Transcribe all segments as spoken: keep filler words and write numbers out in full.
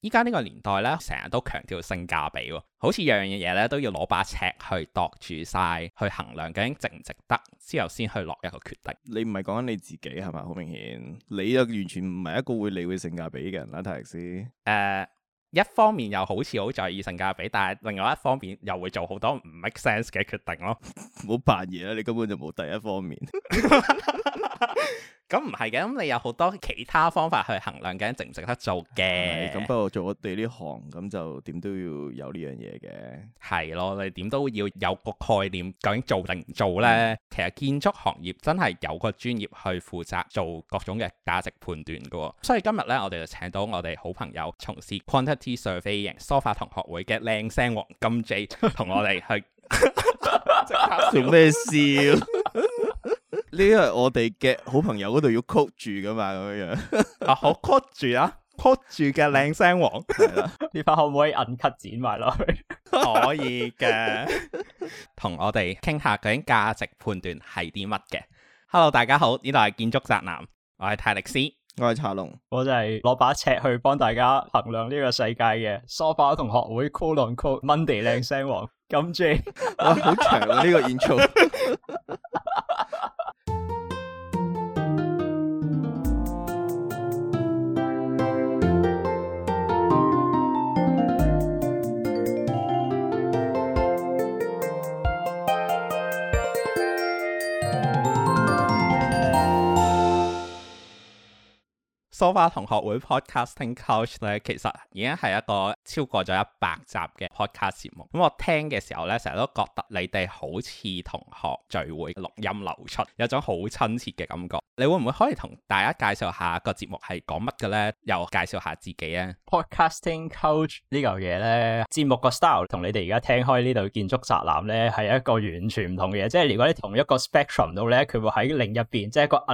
依家呢個年代咧，成日都強調性價比喎，好似樣樣嘢咧都要攞把尺去度住晒，去衡量究竟值唔值得，之後先去落一個決定。 你唔係講緊你自己係咪？好明顯，你又完全唔係一個會理會性價比嘅人啦，泰力斯。誒、 呃，一方面又好似好在意性價比，但係另外一方面又會做好多唔 make sense 嘅決定咯。 唔好扮嘢啦，你根本就冇第一方面。 咁唔係嘅，咁你有好多其他方法去衡量緊值唔值得做嘅。 咁不過做我哋呢行，咁就點都要有呢樣嘢嘅。係咯，你點都要有個概念，究竟做定唔做呢？嗯、其實建築行業真係有個專業去負責做各種嘅價值判斷噶。所以今日呢，我哋就請到我哋好朋友，從事 quantity surveying 梳化同學會嘅靚聲王金 J， 同我哋去做咩笑？呢個係我哋嘅好朋友嗰度要 quote 住噶嘛，咁樣樣啊，好 quote 住啊 quote 住嘅靚聲王係啦， 呢 part 可唔可以 uncut 剪埋落去？ 可以嘅，同我哋傾下究竟價值判斷係啲乜嘅。Hello， 大家好，呢度係建築宅男，我係泰力斯， 我係茶龍， 我就係攞把尺去幫大家衡量呢個世界嘅梳化同學會 quote on quote Monday 靚聲王金 J。 哇，好長啊呢個 intro。 梳化同學會 Podcasting Couch 咧，其實已經係一個超過咗一百集嘅 podcast 節目。咁我聽嘅時候咧，成日都覺得你哋好似同學聚會錄音流出，有種好親切嘅感覺。你會唔會可以同大家介紹下個節目係講乜嘅咧？又介紹下自己啊 Podcasting Couch 呢嚿嘢咧，節目個 style 同你哋而家聽開呢度建築宅男咧係一個完全唔同嘅嘢。即係如果你同一個 spectrum 度咧，佢會喺另一邊，即係一個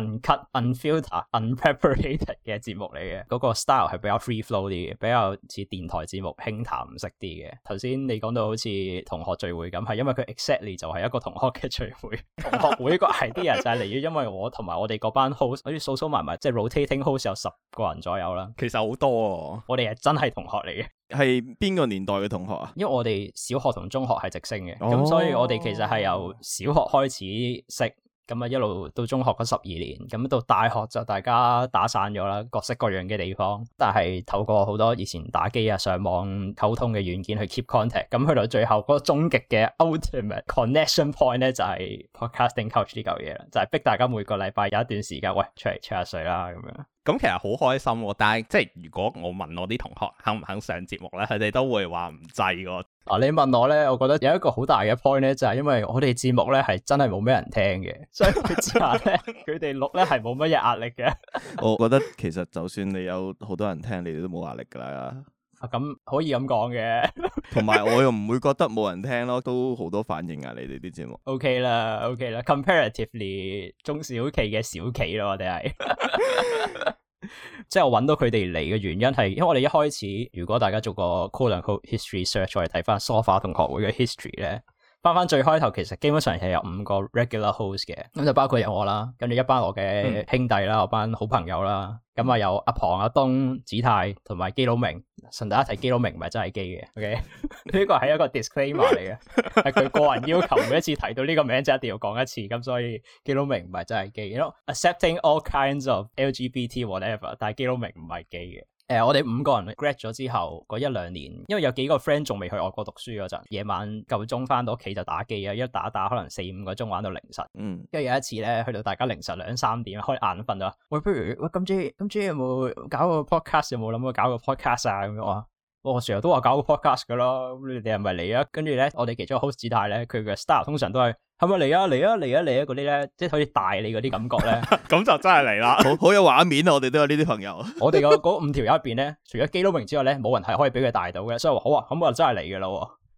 uncut、unfiltered、unpreparated 嘅節目嚟嘅，嗰個 style 係比較 free flow 啲嘅，比較似電台節目輕談唔識啲嘅。頭先你講到好似同學聚會咁，係因為佢 exactly 就係一個同學嘅聚會。同學會個 idea 就係嚟於因為我同埋我哋嗰班 host 好似數數埋埋，即係 rotating host 有十個人左右啦。 其實好多哦， 我哋係真係同學嚟嘅。 係邊個年代嘅同學啊？ 因為我哋小學同中學係直升嘅，咁、 哦、 所以我哋其實係由小學開始識。咁啊，一路到中學嗰十二年，咁到大學就大家打散咗啦，各式各樣嘅地方。但係透過好多以前打機啊、上網溝通嘅軟件去 keep contact，咁去到最後嗰個終極嘅 ultimate connection point 咧，就係 podcasting couch 呢嚿嘢啦，就係逼大家每個禮拜有一段時間，喂，出嚟吹下水啦咁樣。 咁其實好開心喎，但係即係如果我問我啲同學肯唔肯上節目咧，佢哋都會話唔制喎。 啊，你問我咧，我覺得有一個好大嘅 point 咧，就係因為我哋節目咧係真係冇咩人聽嘅，所以佢之下咧，佢哋錄咧係冇乜嘢壓力嘅。 我覺得其實就算你有好多人聽，你哋都冇壓力噶啦。 啊，咁可以咁講嘅。 同埋我又唔會覺得冇人聽咯，都好多反應啊！你哋啲節目。 OK 啦 ，OK 啦 ，comparatively 中小企嘅小企咯，我哋係。即係我揾到佢哋嚟嘅原因係，因為我哋一開始，如果大家做過 quote unquote history search， 我哋睇翻梳化同學會嘅 history 咧，翻翻最開頭，其實基本上係有五個 regular host 嘅，咁就包括有我啦，跟住一班我嘅兄弟啦，嗯、我班好朋友啦，咁啊有阿龐、阿東、子泰同埋基佬明。順帶一提，基佬明唔係真係基嘅 ，OK？呢個係一個 disclaimer 嚟嘅，係佢個人要求，每一次提到呢個名就一定要講一次，咁所以基佬明唔係真係基。You know, accepting all kinds of L G B T whatever， 但係基佬明唔係基嘅。誒、呃，我哋五個人 grad 咗之後嗰一兩年，因為有幾個 friend 仲未去外國讀書嗰陣，夜晚夠鐘翻到屋企就打機啊，一打打可能四五個鐘玩到凌晨。嗯，跟住有一次咧，去到大家凌晨兩三點開眼瞓咗，喂，不如喂金 J 金 J 有冇搞個 podcast？ 有冇諗過搞個 podcast 啊？咁樣話，我成日都話搞個 podcast 噶啦，咁你哋係咪嚟啊？跟住咧，我哋其中一個 host 子泰咧，佢嘅 style 通常都係。係咪嚟啊嚟啊嚟啊嚟啊嗰啲咧，即係好似大你嗰啲感覺咧， 咁就真係嚟啦， 好好有畫面啊！我哋都有呢啲朋友。 我哋個嗰五條友入邊咧，除咗基佬明之外咧，冇人係可以俾佢大到嘅，所以話好啊，咁我就真係嚟嘅咯。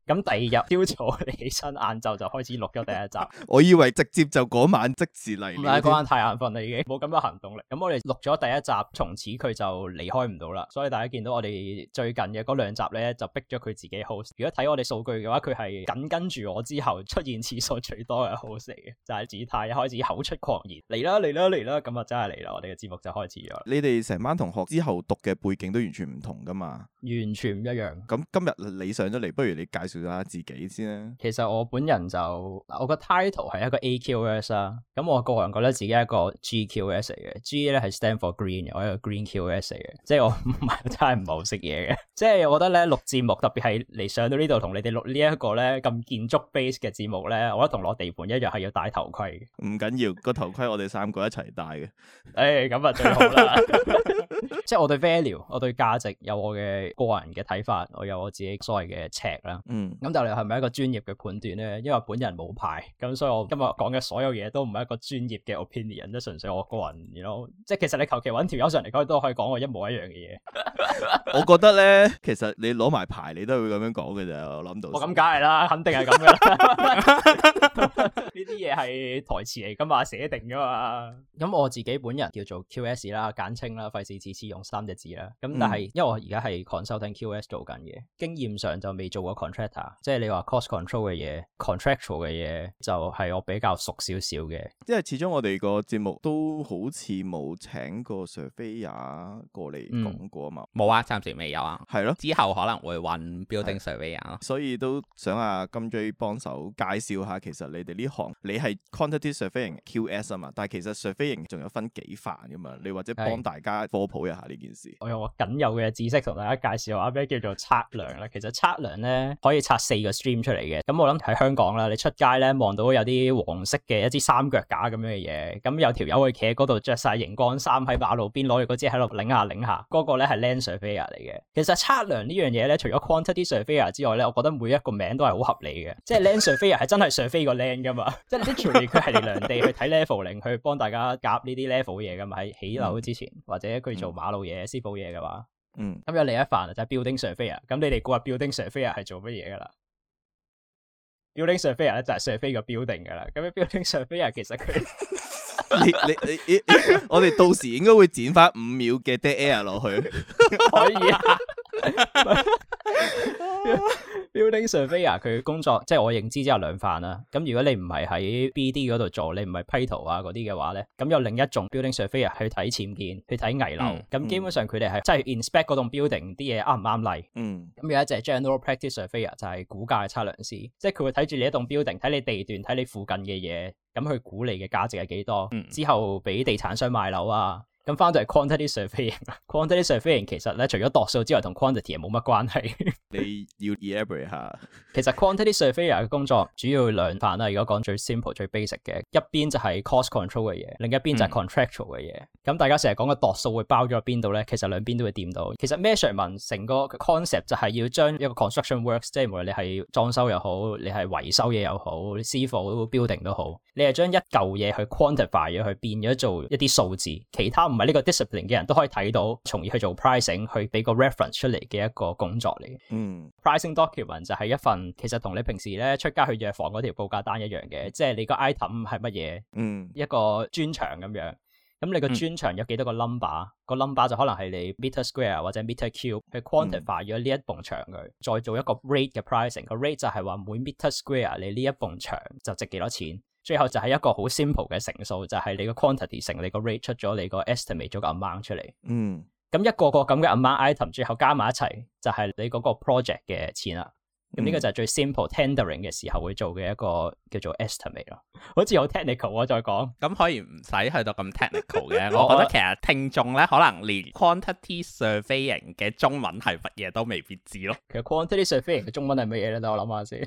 咁第二日朝早你起身，晏晝就開始錄咗第一集。 我以為直接就嗰晚即時嚟。 唔係嗰晚太眼瞓啦，已經冇咁嘅行動力。咁我哋錄咗第一集，從此佢就離開唔到啦。所以大家見到我哋最近嘅嗰兩集咧，就逼咗佢自己 host。如果睇我哋數據嘅話，佢係緊跟住我之後出現次數最多嘅 host 嚟嘅，就係子太一開始口出狂言嚟啦嚟啦嚟啦，咁啊真係嚟啦！我哋嘅節目就開始咗。 你哋成班同學之後讀嘅背景都完全唔同噶嘛？ 完全唔一樣。 咁今日你上咗嚟，不如你介紹下自己先啦。 其實我本人就我個 title 係一個 A Q S 啦，咁我個人覺得自己係一個 G Q S 嚟嘅。G 咧係 stand for green 嘅，我係一個 Green Q S 嚟嘅，即係我唔係真係唔係好識嘢嘅。即係我覺得咧錄節目，特別係嚟上到呢度同你哋錄呢一個咧咁建築 base 嘅節目咧，我覺得同落地盤一樣係要戴頭盔嘅。 唔緊要，個頭盔我哋三個一齊戴嘅。 誒，咁啊最好啦。即係我對 value，我對價值有我嘅個人嘅睇法，我有我自己所謂嘅尺啦。嗯，咁但係係咪一個專業嘅判斷咧？因為本人冇牌，咁所以我今日講嘅所有嘢都唔係一個專業嘅 opinion，即係純粹我個人，you know，即係其實你求其揾條友上嚟講都可以講我一模一樣嘅嘢。 我覺得咧，其實你攞埋牌，你都會咁樣講嘅咋。我諗到。我咁梗係啦，肯定係咁嘅。呢啲嘢係台詞嚟噶嘛，寫定噶嘛。咁我自己本人叫做 Q S 啦，簡稱啦，費事次次用三隻字啦。咁但係、嗯、因為我而家係 consulting Q S 做緊嘅，經驗上就未做過 contractor， 即係你話 cost control 嘅嘢 contractual 嘅嘢就係我比較熟少少嘅。 因為始終我哋個節目都好似冇請過 surveyor 過嚟講過啊嘛。 冇、嗯、啊，暫時未有啊。 係咯， 之後可能會揾 building surveyor 咯。 所以都想阿金 J 幫手介紹下，其實你哋呢行你係 quantity surveying Q S 啊嘛，但係其實 surveying 仲有分幾範噶嘛，你或者幫大家科普一下呢件事。 我用我僅有嘅知識同大家介紹下咩叫做測量啦。其實測量咧可以拆四個 stream 出嚟嘅。咁我諗喺香港啦，你出街咧望到有啲黃色嘅一支三腳架咁樣嘅嘢，咁有條友去企喺嗰度着晒熒光衫喺馬路邊攞住嗰支喺度擰下擰下，嗰、嗰個咧係 land surveyor 嚟嘅。其實測量呢樣嘢咧，除咗 quantity surveyor 之外咧，我覺得每一個名都係好合理嘅。即係 land surveyor 係真係 survey 個 land 噶嘛，即係 literally 佢係嚟量地去睇 leveling 去幫大家夾呢啲 level 嘢噶嘛，喺起樓之前、嗯、或者佢做馬路嘢、師傅嘢嘅話，嗯，咁有另一範就係 building surveyor。咁你哋估下 building surveyor 係做乜嘢噶啦？building surveyor 咧就係 survey 個 building 噶啦。咁 building surveyor 其實佢你你你，你我哋到時應該會剪翻五秒嘅 dead air 落去。 可以啊。Building surveyor 佢工作即係我認知之後兩範啦。咁如果你唔係喺 B D 嗰度做，你唔係批圖啊嗰啲嘅話咧，咁有另一種 building surveyor 去睇僭建，去睇危樓。咁、嗯、基本上佢哋係即係 inspect 嗰棟 building 啲嘢啱唔啱例。嗯。咁有一隻 general practice surveyor 就係估價嘅測量師，即係佢會睇住你一棟 building， 睇你地段，睇你附近嘅嘢，咁去估你嘅價值係幾多，嗯、之後俾地產商賣樓啊。咁翻到係 quantity surveying，quantity surveying 其實咧除咗度數之外，同 quantity 係冇乜關係。你要 elaborate 下。其實 quantity surveyor 嘅工作主要兩範啦。如果講最 simple、最 basic 嘅，一邊就係 cost control 嘅嘢，另一邊就係 contractual 嘅嘢。咁、嗯、大家成日講嘅度數會包咗喺邊度咧？其實兩邊都會掂到。其實 measurement 成個 concept 就係要將一個 construction works， 即係無論你係裝修又好，你係維修嘢又好，師傅 building 都好，你係將一嚿嘢去 quantify 咗，去變咗做一啲數字，其他唔係呢個 discipline 嘅人都可以睇到，從而去做 pricing， 去俾個 reference 出嚟嘅一個工作嚟。嗯 ，pricing document 就係一份其實同你平時咧出街去藥房嗰條報價單一樣嘅，即係你個 item 係乜嘢，嗯，一個磚牆咁樣。咁你個磚牆有幾多個 number？、嗯、個 number 就可能係你 meter square 或者 meter cube 去 quantify 咗呢一埲牆佢，再做一個 rate 嘅 pricing。個 rate 就係話每 meter square 你呢一埲牆就值幾多錢。最後就係一個好 simple 嘅乘數，就係、是、你個 quantity 乘你個 rate 出咗你個 estimate 咗個 amount 出嚟。嗯，咁一個個咁嘅 amount item 最後加埋一齊，就係、是、你嗰個 project 嘅錢啦。咁呢、嗯、個就係最 simple tendering 嘅時候會做嘅一個叫做 estimate 咯。好似好 technical 我再講， 咁可以唔使去到咁 technical 嘅。我覺得其實聽眾咧可能連 quantity surveying 嘅中文係乜嘢都未必知咯。 其實 quantity surveying 嘅中文係乜嘢咧？等我諗下先。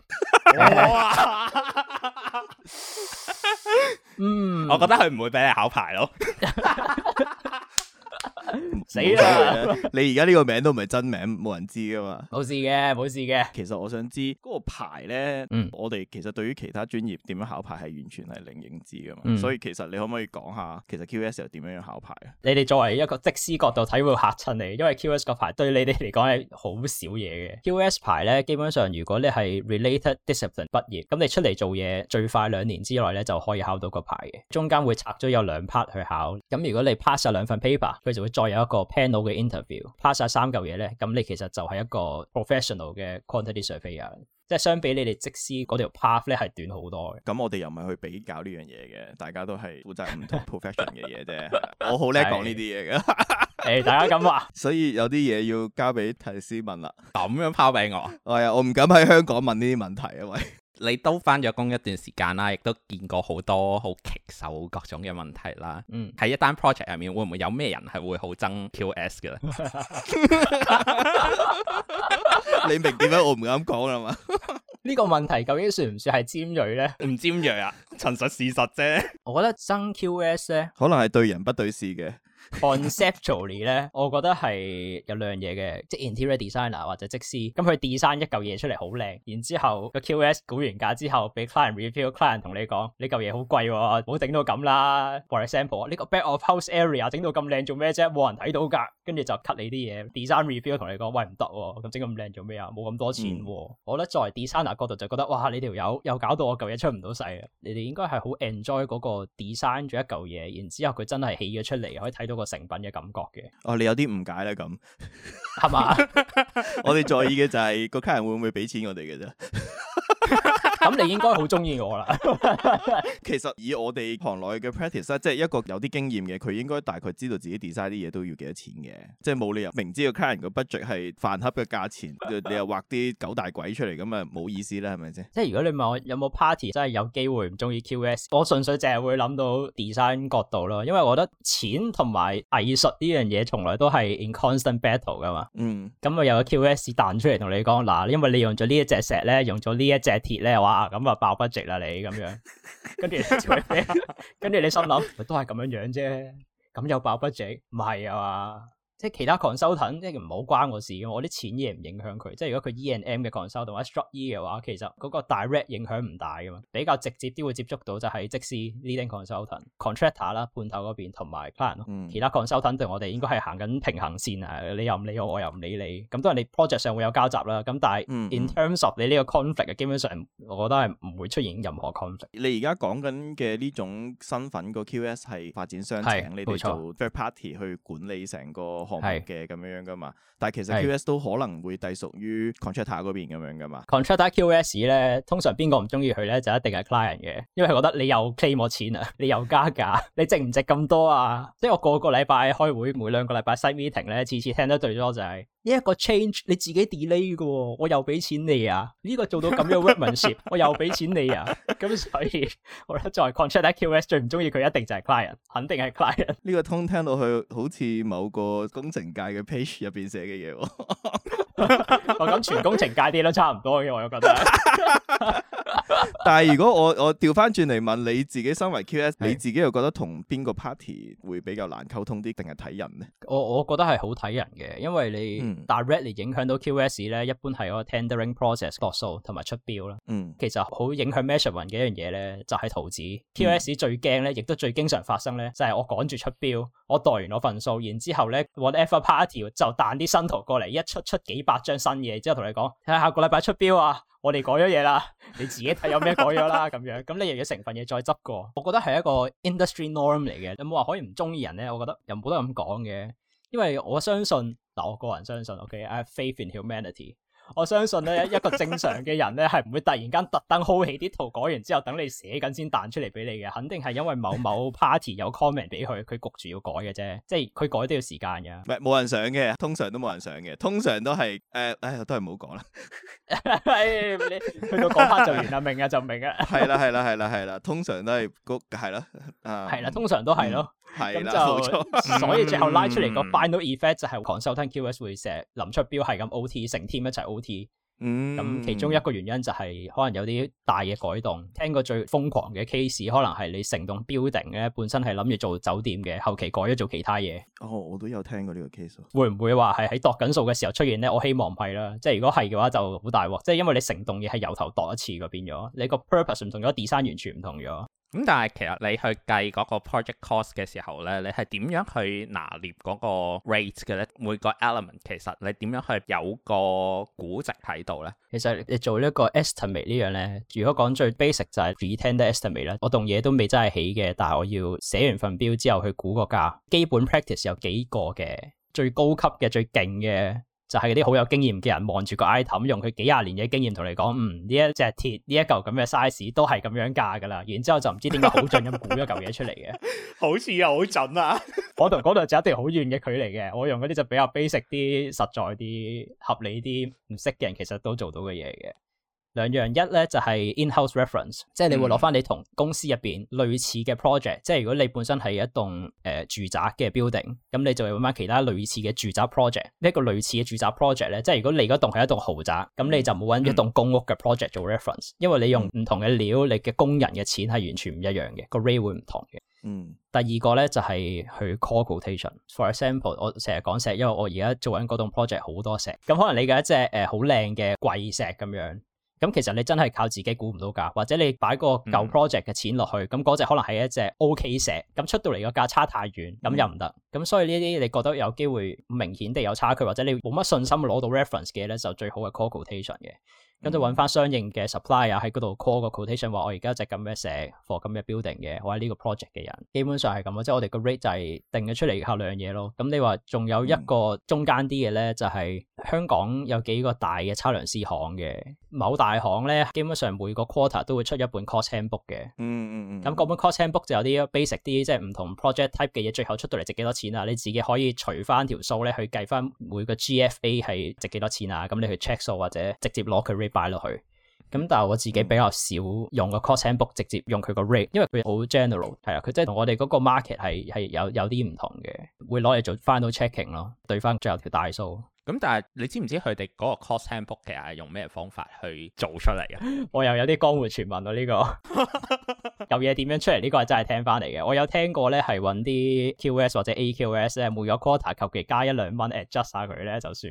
嗯， 我覺得佢唔會俾你考牌咯。 死啦！ 你而家呢個名都唔係真名，冇人知噶嘛。 冇事嘅，冇事嘅。 其實我想知嗰、那個牌咧， 嗯、 我哋其實對於其他專業點樣考牌係完全係零認知噶嘛。 嗯、所以其實你可唔可以講下，其實 Q S 又點樣樣考牌啊？ 你哋作為一個則師角度睇會嚇親你，因為 Q S 個牌對你哋嚟講係好少嘢嘅。Q S 牌咧，基本上如果你係 related discipline 畢業，咁你出嚟做嘢最快兩年之內咧就可以考到個牌嘅。中間會拆咗有兩 part 去考。咁如果你 pass 晒兩份 paper，佢就會再有一個 panel 嘅 interview。pass 晒三嚿嘢咧，咁你其實就係一個 professional 嘅 quantity surveyor。即係相比你哋則師嗰條 path 咧係短好多嘅。 咁我哋又唔係去比較呢樣嘢嘅，大家都係負責唔同 profession 嘅嘢啫。我好叻講呢啲嘢嘅。 誒，大家咁話， 所以有啲嘢要交俾提斯問啦。 咁樣拋俾我， 係啊，我唔敢喺香港問呢啲問題啊，喂。 你都返咗工一段時間啦，亦都見過好多好棘手各種嘅問題啦。嗯，喺一單 project 入面，會唔會有咩人係會好憎 Q S 嘅咧？ 你明點解我唔敢講啦嘛？ 呢個問題究竟算唔算係尖銳咧？ 唔尖銳啊，陳述事實啫。 我覺得憎 Q S 咧， 可能係對人不對事嘅。 Conceptually 咧，我覺得係有兩樣嘢嘅，即係 interior designer 或者則師，咁佢 design 一嚿嘢出嚟好靚，然之後個 Q S 估完價之後，俾 client review，client 同你講呢嚿嘢好貴喎，唔好整到咁啦。For example，呢個 back of house area 整到咁靚做咩啫？冇人睇到㗎，跟住就 cut 你啲嘢。design review 同你講，喂唔得喎，咁整咁靚做咩啊？冇咁多錢喎。嗯、我覺得作為 designer 角度就覺得，哇！你條友又搞到我嚿嘢出唔到世啊！你哋應該係好 enjoy 嗰個 design 咗一嚿嘢，然之後佢真係起咗出嚟，可以睇到個成品嘅感覺嘅。 哦，你有啲誤解啦，咁係嘛？ 我哋在意嘅就係個客人會唔會俾錢我哋嘅啫。 咁你應該好中意我啦。 其實以我哋行內嘅 practice 咧，即係一個有啲經驗嘅，佢應該大概知道自己 design 啲嘢都要幾多錢嘅，即係冇理由明知個 client 個 budget 係飯盒嘅價錢，你又畫啲九大鬼出嚟，咁啊冇意思啦，係咪先？即係如果你問我有冇 party 真係有機會唔中意 Q S， 我純粹淨係會諗到 design 角度咯，因為我覺得錢同埋藝術呢樣嘢從來都係 in constant battle 噶嘛。嗯。咁啊有個 Q S 彈出嚟同你講嗱，因為你用咗呢一隻石咧，用咗呢一隻鐵咧，哇咁啊爆 budget 啦你咁樣，跟住跟住你心諗都係咁樣樣啫，咁又爆 budget 唔係啊嘛？即係其他 consultant 即係唔好關我事嘅，我啲錢嘢唔影響佢。即係如果佢 E and M 嘅 consultant 或者 Struct E 嘅話，其實嗰個 direct 影響唔大噶嘛。比較直接啲會接觸到就係則師 leading consultant、contractor 啦，判頭嗰邊同埋 client 咯。嗯、其他 consultant 對我哋應該係行緊平衡線啊，你又唔理我，我又唔理你。咁當然你 project 上會有交集啦。咁但係 in terms of 你呢個 conflict，基本上我覺得係唔會出現任何 conflict。 你而家講緊嘅呢種身份個 Q S 係發展商請你哋做 third party 去管理成個項目嘅咁樣樣噶嘛，但係其實 Q S 都可能會隸屬於 contractor 嗰邊咁樣噶嘛。 contractor Q S 咧，通常邊個唔中意佢咧，就一定係 client 嘅，因為佢覺得你又 claim 我錢啊，你又加價，你值唔值咁多啊？即係我個個禮拜開會，每兩個禮拜 site meeting 咧，次次聽得最多就係呢一個 change 你自己 delay 嘅，我又俾錢你啊！呢個做到咁樣 workmanship， 我又俾錢你啊！咁所以我覺得作為 contractor Q S 最唔中意佢一定就係 client， 肯定係 client。 呢個通聽到去好似某個工程界嘅 page 入邊寫嘅嘢， 我諗全工程界啲都差唔多嘅，我又覺得。 但係如果我我調翻轉嚟問你自己，身為 Q S， 你自己又覺得同邊個 party 會比較難溝通啲，定係睇人呢？ 我我覺得係好睇人嘅，因為你 directly 影響到 Q S 咧，一般係嗰個 tendering process 度數同埋出標啦。嗯，其實好影響 measurement 嘅一樣嘢咧，就係圖紙。Q S 最驚咧，亦都最經常發生咧，就係我趕住出標，我代完我份數，然之後咧 whatever party 就彈啲新圖過嚟，一出出幾百張新嘢，之後同你講睇下下個禮拜出標啊！我哋改咗嘢啦，你自己睇有咩改咗啦，咁樣，咁你又要成份嘢再執過。我覺得係一個 industry norm 嚟嘅，有冇話可以唔中意人咧？我覺得又冇得咁講嘅，因為我相信嗱，我個人相信 ，OK，I have faith in humanity。我相信咧，一個正常嘅人咧，係唔會突然間特登 hold 起啲圖改完之後，等你寫緊先彈出嚟俾你嘅，肯定係因為某某 party 有 comment 俾佢，佢焗住要改嘅啫，即係佢改都要時間嘅。唔係冇人想嘅，通常都冇人想嘅，通常都係誒，唉、呃，都係唔好講啦。 係你去到嗰 part 就完啦，明啊就明啊。 係啦係啦係啦係啦，通常都係嗰係啦，啊係啦，通常都係咯。 係啦， 冇錯。 所以最後拉出嚟個 final effect 就係 consultant Q S 會成日臨出標係咁 O T， 成 team 一齊 O T。 嗯， 咁其中一個原因就係可能有啲大嘅改動。聽過最瘋狂嘅 case，可能係你成棟 building 咧本身係諗住做酒店嘅，後期改咗做其他嘢。 哦，我都有聽過呢個 case。 會唔會話係喺度緊數嘅時候出現咧？我希望唔係啦。即係如果係嘅話就好大鑊，即係因為你成棟嘢係由頭度一次個變咗，你個 purpose 唔同咗 ，design 完全唔同咗。 咁但係其實你去計嗰個 project cost 嘅時候咧，你係點樣去拿捏嗰個 rate 嘅咧？每個 element 其實你點樣去有個估值喺度咧？ 其實你做呢一個 estimate 呢樣咧，如果講最 basic 就係 pretend estimate 啦。我棟嘢都未真係起嘅，但係我要寫完份表之後去估個價。基本 practice 有幾個嘅，最高級嘅最勁嘅。就係嗰啲好有經驗嘅人望住個 item，用佢幾廿年嘅經驗同你講，嗯，呢一隻鐵呢一嚿咁嘅 size 都係咁樣價噶啦，然之後就唔知點解好準咁估一嚿嘢出嚟嘅， 好似又好準啊！ 我同嗰度就一定好遠嘅距離嘅，我用嗰啲就比較 basic 啲、實在啲、合理啲，唔識嘅人其實都做到嘅嘢嘅。兩樣一咧就係 in-house reference， 即係你會攞翻你同公司入邊類似嘅 project，、嗯、即係如果你本身係一棟誒、呃、住宅嘅 building， 咁你就會揾翻其他類似嘅住宅 project。呢一個類似嘅住宅 project 咧，即係如果你嗰棟係一棟豪宅，咁你就冇揾一棟公屋嘅 project 做 reference，、嗯、因為你用唔同嘅料，你嘅工人嘅錢係完全唔一樣嘅，個 rate 會唔同嘅。 嗯。第二個咧就係、是、去 call quotation。For example， 我成日講石，因為我而家做緊嗰棟 project 好多石，咁可能你嘅一隻誒好靚嘅貴石咁樣。咁其實你真係靠自己估唔到價，或者你擺個舊 project 嘅錢落去，咁嗰隻可能係一隻 OK 石，咁出到嚟個價差太遠，咁又唔得。咁、嗯、所以呢啲你覺得有機會明顯地有差距，或者你冇乜信心攞到 reference 嘅咧，就最好係 call quotation 嘅。咁就揾翻相應嘅 supplier 喺嗰度 call 個 quotation，話我而家隻咁嘅石 for 咁嘅 building 嘅，我喺呢個 project 嘅人，基本上係咁咯，即係我哋個 rate 就係定咗出嚟靠兩樣嘢咯。咁你話仲有一個中間啲嘅咧，就係、是、香港有幾個大嘅測量師行嘅，某大行咧，基本上每個 quarter 都會出一本 cost handbook 嘅。嗯嗯嗯。咁嗰本 cost handbook 就有啲 basic 啲，即係唔同 project type 嘅嘢，最後出到嚟值幾多錢啊？你自己可以除翻條數咧，去計翻每個 G F A 係值幾多錢啊？咁你去 check 數或者直接攞佢 rate 擺落去。咁但係我自己比較少用個 cost handbook，直接用佢個 rate，因為佢好 general， 係啊，佢即係同我哋嗰個 market 係係有有啲唔同嘅，會攞嚟做 final checking 咯，對翻最後條大數。 咁但係你知唔知佢哋嗰個 cost handbook 其實係用咩方法去做出嚟嘅？ 我又有啲江湖傳聞咯，呢、這個有嘢點樣出嚟？呢、這個係真係聽翻嚟嘅。我有聽過咧，係揾啲 Q S 或者 A Q S 咧，每個 quarter 求其加一兩蚊 adjust 下佢咧就算。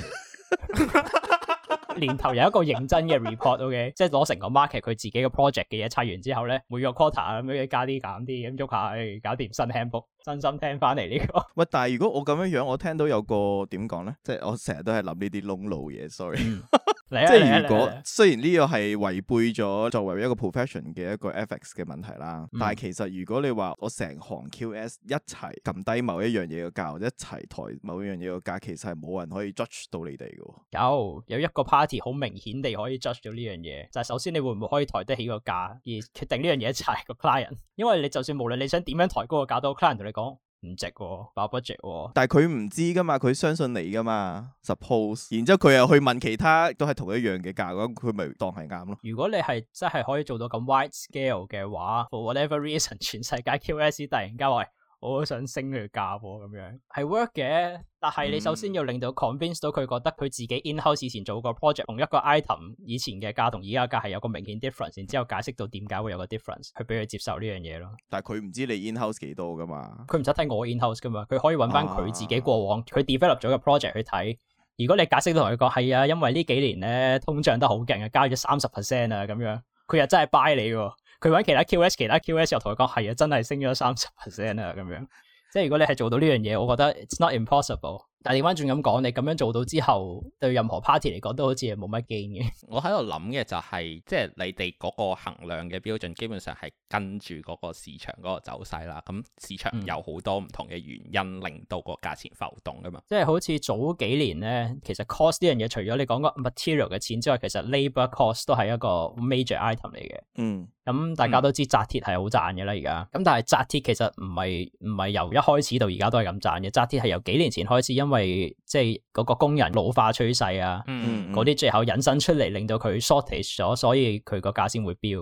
年頭有一個認真嘅 report，OK， 即係攞成個 market 佢自己嘅 project 嘅嘢砌完之後咧，每個 quarter 咁樣加啲減啲咁喐下，誒，搞掂新 handbook， 真心聽翻嚟呢個。喂， 但係如果我咁樣樣，我聽到有個點講咧，即係我成日都係諗呢啲窿路嘢 ，sorry。嗯即係如果雖然呢個係違背咗作為一個 profession 嘅一個 ethics 嘅問題啦，嗯、但係其實如果你話我成行 Q S 一齊撳低某一樣嘢嘅價，或者一齊抬某一樣嘢嘅價，其實係冇人可以 judge 到你哋嘅。 有有一個 party 好明顯地可以 judge 到呢樣嘢，就係、是、首先你會唔會可以抬得起個價，而決定呢樣嘢就係個 client。因為你就算無論你想點樣抬高個價，都 client 同你講。唔值喎，爆 budget 喎。 但係佢唔知噶嘛，佢相信你噶嘛 ，suppose。然之後佢又去問其他都係同一樣嘅價，咁佢咪當係啱咯。 如果你係真係可以做到咁 wide scale 嘅話 ，for whatever reason，全世界 Q S 突然間話我好想升佢價喎，咁樣係 work 嘅。但係你首先要令到 convince 到佢覺得佢自己 in-house 以前做個 project 同一個 item 以前嘅價同而家價係有個明顯 difference， 然之後解釋到點解會有個 difference， 去俾佢接受呢樣嘢咯。 但係佢唔知你 in-house 幾多噶嘛？ 佢唔使睇我 in-house 噶嘛，佢可以揾翻佢自己過往佢、啊、develop 咗個 project 去睇。如果你解釋到同佢講係啊，因為呢幾年咧通脹得好勁啊，加咗三十 percent 啊咁樣，佢又真係 buy 你喎。佢揾其他 Q S， 其他 Q S 又同佢講係啊，真係升咗三十 percent 啊咁樣。即係如果你係做到呢樣嘢，我覺得 it's not impossible。但係調翻轉咁講，你咁樣做到之後，對任何 party 嚟講都好似係冇乜 gain 嘅。我喺度諗嘅就係、是，即係你哋嗰個衡量嘅標準，基本上係跟住嗰個市場嗰個走勢啦。咁市場有好多唔同嘅原因，令到個價錢浮動噶嘛。即係好似早幾年咧，其實 cost 呢樣嘢，除咗你講個 material 嘅錢之外，其實 labour cost 都係一個 major item 嚟嘅。嗯。咁大家都知紮鐵係好賺嘅啦，而家。咁但係紮鐵其實唔係唔係由一開始到而家都係咁賺嘅。紮鐵係由幾年前開始，因為即係嗰個工人老化趨勢啊，嗰啲、嗯嗯、最後引申出嚟，令到佢 shortage 咗，所以佢個價先會飆。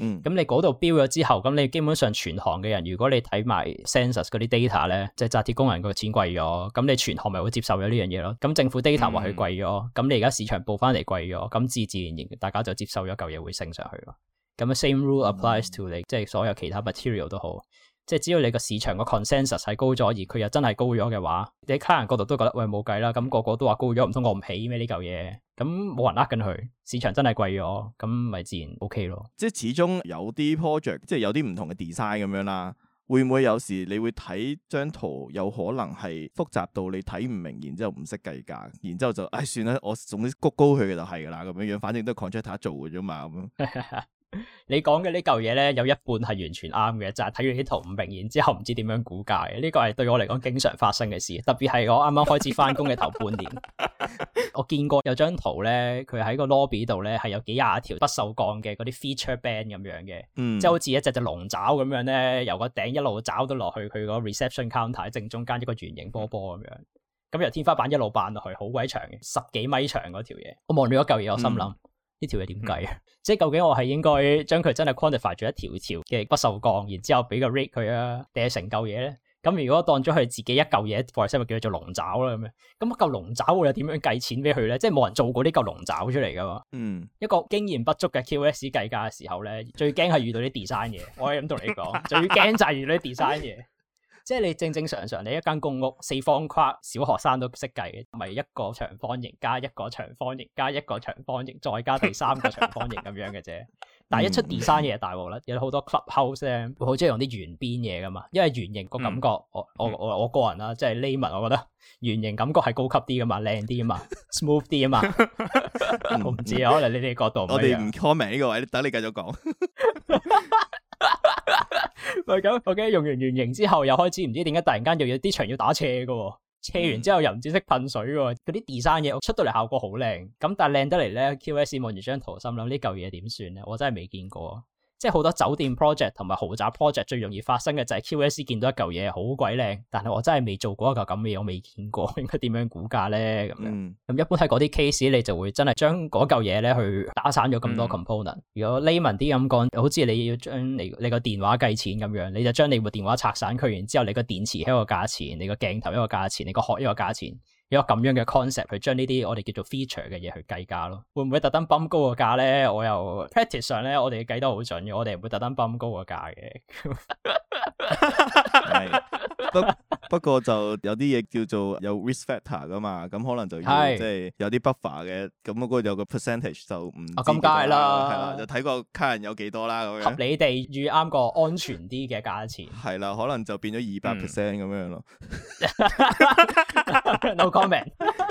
咁、嗯、你嗰度標咗之後，咁你基本上全行嘅人，如果你睇埋 census 嗰啲 data 咧，即係紮鐵工人個錢貴咗，咁你全行咪會接受咗呢樣嘢咯。咁政府 data 話佢貴咗，咁、嗯、你而家市場報翻嚟貴咗，咁自自然然大家就接受咗嚿嘢會升上去咯。咁 same rule applies to 你，嗯、即係所有其他 material 都好。即係只要你個市場個 consensus 係高咗，而佢又真係高咗嘅話，你喺客人角度都覺得喂冇計啦，咁、那個個都話高咗，唔通我唔起咩呢嚿嘢？咁冇人呃緊佢，市場真係貴咗，咁咪自然 OK 咯。 即係始終有啲 project，即係有啲唔同嘅 design 咁樣啦。會唔會有時你會睇張圖，有可能係複雜到你睇唔明，然之後唔識計價，然之後就唉算啦，我總之谷高佢嘅就係噶啦，咁樣樣，反正都係 contractor 做嘅啫嘛咁。 你講嘅呢嚿嘢咧，有一半係完全啱嘅，就係睇完啲圖唔明，然之後唔知點樣估價嘅。呢個係對我嚟講經常發生嘅事，特別係我啱啱開始翻工嘅頭半年，我見過有張圖咧，佢喺個 lobby 度咧係有幾廿條不鏽鋼嘅嗰啲 feature band 咁樣嘅，嗯、即係好似一隻隻龍爪咁樣咧，由個頂一路爪到落去佢個 reception counter 正中間一個圓形波波咁樣，咁由天花板一路扮落去，好鬼長嘅，十幾米長嗰條嘢。我望住嗰嚿嘢，我心諗。嗯呢條嘢點計啊？嗯、即係究竟我係應該將佢真係 quantify 咗一條條嘅不鏽鋼，然之後俾個 rate 佢啊，定係成嚿嘢咧？咁如果當咗佢自己一嚿嘢，for example 叫佢做龍爪啦咁樣，咁嚿龍爪我又點樣計錢俾佢咧？即係冇人做過呢嚿龍爪出嚟噶嘛？嗯，一個經驗不足嘅 Q S 計價嘅時候咧，最驚係遇到啲 design 嘢。我可以咁同你講，最驚就係遇到啲 design 嘢。即係你正正常常，你一間公屋四方框，小學生都識計嘅，咪一個長方形加一個長方形加一個長方形，再加第三個長方形咁樣嘅啫。但係一出 design 嘢大鑊啦，有好多 clubhouse 咧，會好中意用啲圓邊嘢噶嘛，因為圓形個感覺，嗯、我我我我個人啦，即係 layman，我覺得圓形感覺係高級啲噶嘛，靚啲啊嘛，smooth 啲啊嘛。我唔知啊，可能你哋角度唔一樣。我哋唔 comment 呢個位，等你繼續講。 喂，咁，OK，用完圓形之後，又開始唔知點解突然間又有啲牆要打斜噶，斜完之後又唔知識噴水噶，嗰啲 design 嘢出到嚟效果好靚，咁但係靚得嚟咧 ，Q S 望住張圖，心諗呢嚿嘢點算咧？我真係未見過。即係好多酒店 project 同埋豪宅 project 最容易發生嘅就係 Q S 見到一嚿嘢好鬼靚，但係我真係未做過一嚿咁嘅嘢，我未見過，應該點樣估價咧？咁樣咁、嗯、一般喺嗰啲 case 你就會真係將嗰嚿嘢咧去打散咗咁多 component、嗯。如果 layman 啲咁講，好似你要將你你個電話計錢咁樣，你就將你部電話拆散佢，然之後你個電池一個價錢，你個鏡頭一個價錢，你個殼一個價錢。有咁樣嘅 concept 去將呢啲我哋叫做 feature 嘅嘢去計價咯，會唔會特登泵高個價咧？我又 practice 上咧，我哋計得好準嘅，我哋唔會特登泵高個價嘅。 係，不不過就有啲嘢叫做有 risk factor 噶嘛，咁可能就要是即係有啲 buffer 嘅，咁嗰個有個 percentage 就唔啊咁梗係啦，係啦，就睇個客人有幾多啦咁樣。 合理地預啱個安全啲嘅價錢。係啦，可能就變咗二百 percent 咁樣咯。 No comment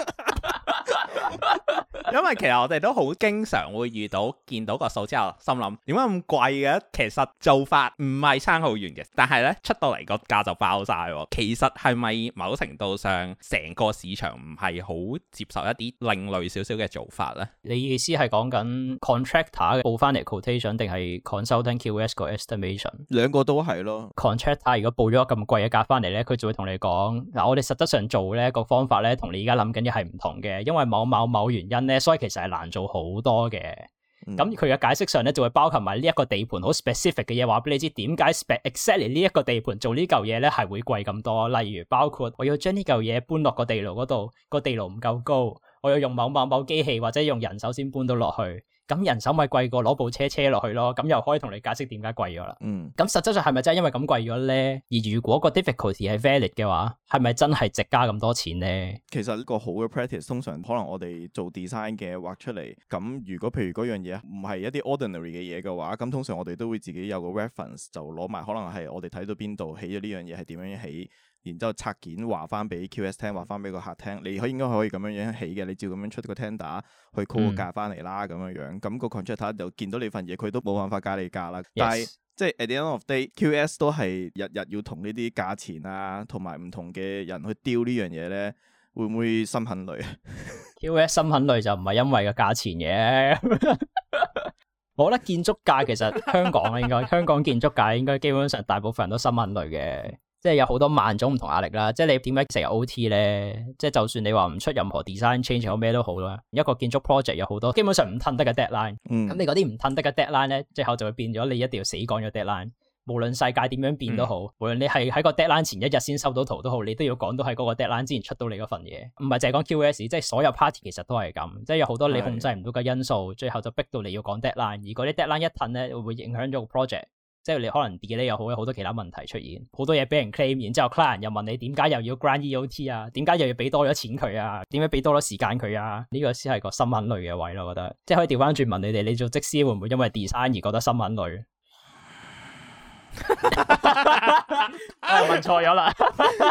因為其實我哋都好經常會遇到見到個數之後心諗點解咁貴嘅？其實做法唔係差好遠嘅，但係咧出到嚟個價就爆晒。其實係咪某程度上成個市場唔係好接受一啲另類少少嘅做法咧？ 你意思係講緊 contractor 報翻嚟 quotation 定係 consultant Q S 個 estimation？ 兩個都係咯。 contractor 如果報咗咁貴嘅價翻嚟咧，佢就會同你講嗱，我哋實質上做咧個方法咧同你而家諗緊嘅係唔同嘅，因為某某某原因咧，所以其實係難做好多嘅。咁佢嘅解釋上咧就會包含埋呢一個地盤好 specific 嘅嘢，話俾你知點解 exactly 呢一個地盤做呢嚿嘢咧係會貴咁多。例如包括我要將呢嚿嘢搬落個地牢嗰度，個地牢唔夠高，我要用某某某機器或者用人手先搬到落去。咁人手咪貴過攞部車車落去咯，咁又可以同你解釋點解貴咗啦。嗯，咁實質上係咪真係因為咁貴咗咧？而如果個 difficulty 係 valid 嘅話，係咪真係值加咁多錢咧？ 其實一個好嘅 practice 通常可能我哋做 design 嘅畫出嚟，咁如果譬如嗰樣嘢唔係一啲 ordinary 嘅嘢嘅話，咁通常我哋都會自己有個 reference 就攞埋，可能係我哋睇到邊度起咗呢樣嘢係點樣起。然之後拆件話翻俾 Q S 聽，話翻俾個客聽，你可以應該可以咁樣樣起嘅，你照咁樣出個 tender 去 call 個價翻嚟啦，咁樣樣，咁個 contractor 就見到你份嘢，佢都冇辦法加你價啦。Yes. 但係即係 at the end of day，Q S 都係日日要同呢啲價錢啊，同埋唔同嘅人去丟呢樣嘢咧，會唔會心很累啊？Q S 心很累就唔係因為個價錢嘅。我覺得建築界其實香港應該香港建築界應該基本上大部分人都心很累嘅。 即係有好多萬種唔同壓力啦。即係你點解成日 O T 咧？即係就算你話唔出任何 design change 或咩都好啦，一個建築 project 有好多基本上唔褪得嘅 deadline。咁、嗯、你嗰啲唔褪得嘅 deadline 咧，最後就會變咗你一定要死趕咗 deadline。無論世界點樣變都好，嗯、無論你係喺個 deadline 前一日先收到圖都好，你都要趕到喺嗰個 deadline 之前出到你嗰份嘢。唔係淨係講 Q S， 即係所有 party 其實都係咁，即係有好多你控制唔到嘅因素，的最後就逼到你要趕 deadline。而嗰啲 deadline 一褪咧，會影響咗個 project， 即係你可能 delay 又好，有好多其他問題出現，好多嘢俾人 claim， 然之後 client 又問你點解又要 grant E O T 啊？點解又要俾多咗錢佢啊？點解俾多咗時間佢啊？呢、這個先係個心很累嘅位咯，我覺得。即係可以調翻轉問你哋，你做則師會唔會因為 design 而覺得心很累？我問錯咗啦。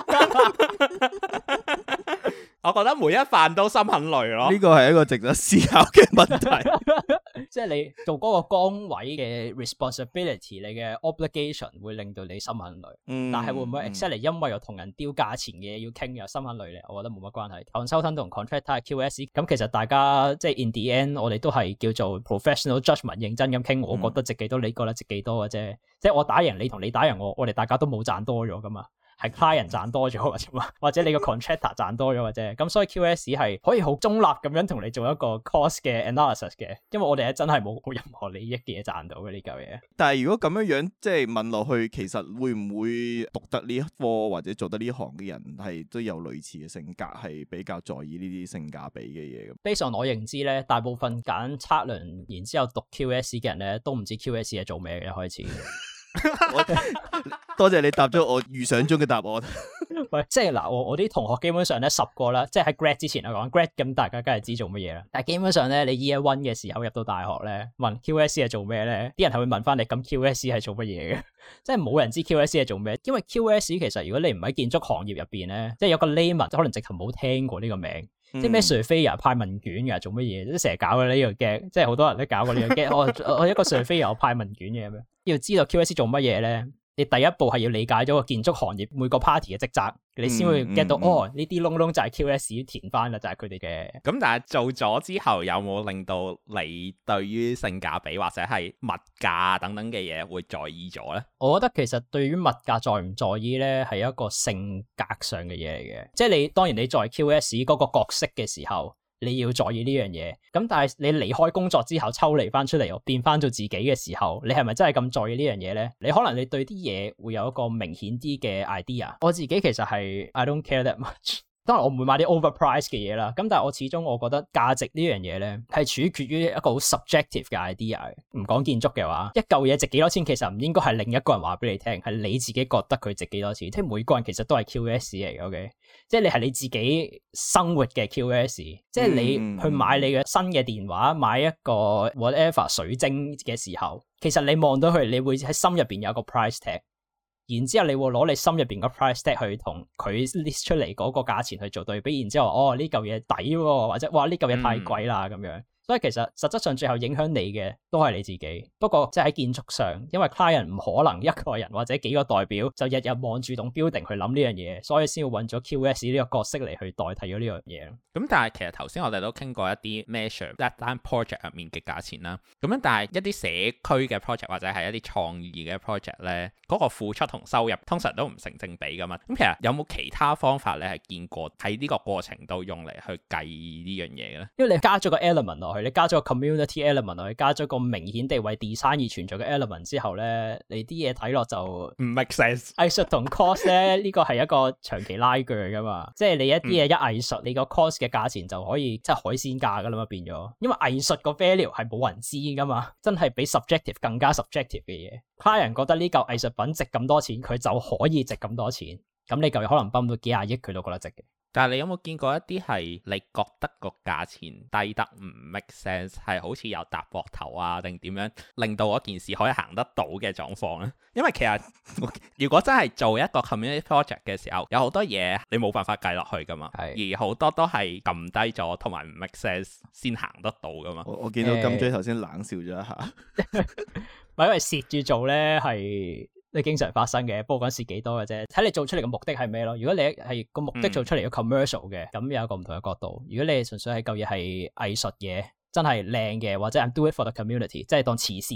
我覺得每一飯都心很累咯， 呢個係一個值得思考嘅問題。 即係你做嗰個崗位嘅 responsibility， 你嘅 obligation 會令到你心很累。嗯、但係會唔會 exactly 因為有同人丟價錢嘅嘢要傾又心很累咧？我覺得冇乜關係。consultant 同 contractor Q S 咁其實大家即係 in the end， 我哋都係叫做 professional judgment 認真咁傾。我覺得值幾多，你覺得值幾多嘅啫。即係我打贏你同你打贏我，我哋大家都冇賺多咗噶嘛。係 client 賺多咗或者嘛，或者你個 contractor 賺多咗或者，咁所以 Q S 係可以好中立咁樣同你做一個 cost 嘅 analysis 嘅，因為我哋係真係冇任何利益嘅嘢賺到嘅呢嚿嘢。 但係如果咁樣樣即係問落去，其實會唔會讀得呢一科或者做得呢行嘅人係都有類似嘅性格，係比較在意呢啲性價比嘅嘢咁 ？Based on我認知咧，大部分揀測量然之後讀 Q S 嘅人咧，都唔知 Q S 係做咩嘅一開始。 我多謝你答咗我預想中嘅答案。 喂，即係嗱，我我啲同學基本上咧十個啦，即係喺 grad 之前嚟講 grad 咁，大家梗係知做乜嘢啦。但係基本上咧，你 year one 嘅時候入到大學咧，問 Q S 係做咩咧？啲人係會問翻你，咁 Q S 係做乜嘢嘅？即係冇人知 Q S 係做咩，因為 Q S 其實如果你唔喺建築行業入邊咧，即係有個 layman 可能直頭冇聽過呢個名。嗯、即係咩 surveyor 派問卷噶，做乜嘢？即係成日搞嘅呢個 game，即係好多人都搞過呢個 game。我我一個 surveyor 派問卷嘅咁樣，要知道 Q S 做乜嘢咧？你第一步係要理解咗個建築行業每個 party 嘅職責，你先會 get 到、嗯嗯、哦，呢啲窿窿就係 Q S 填翻啦，就係佢哋嘅。 咁但係做咗之後，有冇令到你對於性價比或者係物價等等嘅嘢會在意咗咧？ 我覺得其實對於物價在唔在意咧，係一個性格上嘅嘢嚟嘅。即係你當然你在 Q S 嗰個角色嘅時候，你要在意呢樣嘢，咁但係你離開工作之後抽離翻出嚟，變翻做自己嘅時候，你係咪真係咁在意呢樣嘢咧？你可能你對啲嘢會有一個明顯啲嘅 idea。我自己其實係 I don't care that much。當然我唔會買啲 overprice 嘅嘢啦，咁但係我始終我覺得價值呢樣嘢咧係取決於一個好 subjective 嘅 idea。唔講建築嘅話，一嚿嘢值幾多錢，其實唔應該係另一個人話俾你聽，係你自己覺得佢值幾多錢。即係每個人其實都係 Q S 嚟嘅，OK？即係你係你自己生活嘅 Q S，即係你去買你嘅新嘅電話，買一個 whatever 水晶嘅時候，其實你望到佢，你會喺心入邊有個 price tag。然之後你會攞你心入邊個 price tag 去同佢 list 出嚟嗰個價錢去做對比，然之後哦呢嚿嘢抵喎，或者哇呢嚿嘢太貴啦咁樣。所以其實實質上最後影響你嘅都係你自己。不過即係喺建築上，因為 client 唔可能一個人或者幾個代表就日日望住棟 building 去諗呢樣嘢，所以先要揾咗 Q S 呢個角色嚟去代替咗呢樣嘢。 咁但係其實頭先我哋都傾過一啲 measure 一單 project 入面嘅價錢啦。咁樣但係一啲社區嘅 project 或者係一啲創意嘅 project 咧，嗰個付出同收入通常都唔成正比噶嘛。咁其實有冇其他方法你係見過喺呢個過程度用嚟去計呢樣嘢嘅咧？因為你加咗個 element 落去。你加咗個 community element 落去，加咗個明顯地為 design 而存在嘅 element 之後咧，你啲嘢睇落就唔 make sense。藝術同 cost 咧呢個係一個長期拉鋸噶嘛，即係你一啲嘢一藝術，你個 cost 嘅價錢就可以即係海鮮價噶啦嘛變咗，因為藝術個 value 係冇人知噶嘛，真係比 subjective 更加 subjective 嘅嘢。client 覺得呢嚿藝術品值咁多錢，佢就可以值咁多錢，咁你嚿嘢可能泵到幾廿億，佢都覺得值嘅。但係你有冇見過一啲係你覺得個價錢低得唔 make sense， 係好似有搭膊頭啊定點樣令到嗰件事可以行得到嘅狀況咧？因為其實如果真係做一個 community project 嘅時候，有好多嘢你冇辦法計落去噶嘛，是而好多都係撳低咗同埋唔 make sense 先行得到噶嘛。 我我見到金追頭先冷笑咗一下， 咪因為蝕住做咧係。你經常發生嘅，不過講蝕幾多嘅啫，睇你做出嚟嘅目的係咩咯？如果你係個目的做出嚟嘅 commercial 嘅，咁、嗯、有一個唔同嘅角度。如果你純粹係嚿嘢係藝術嘢，真係靚嘅，或者 I'm do it for the community，即係當慈善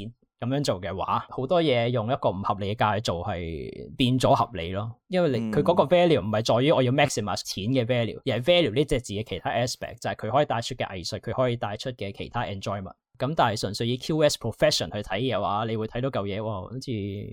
咁樣做嘅話，好多嘢用一個唔合理嘅價去做係變咗合理咯。因為你佢嗰、嗯、個 value 唔係在於我要 maximize 錢嘅 value，而係 value 呢隻字嘅其他 aspect， 就係佢可以帶出嘅藝術，佢可以帶出嘅其他 enjoyment。咁但係純粹以 Q S profession 去睇嘅話，你會睇到嚿嘢，哇，好似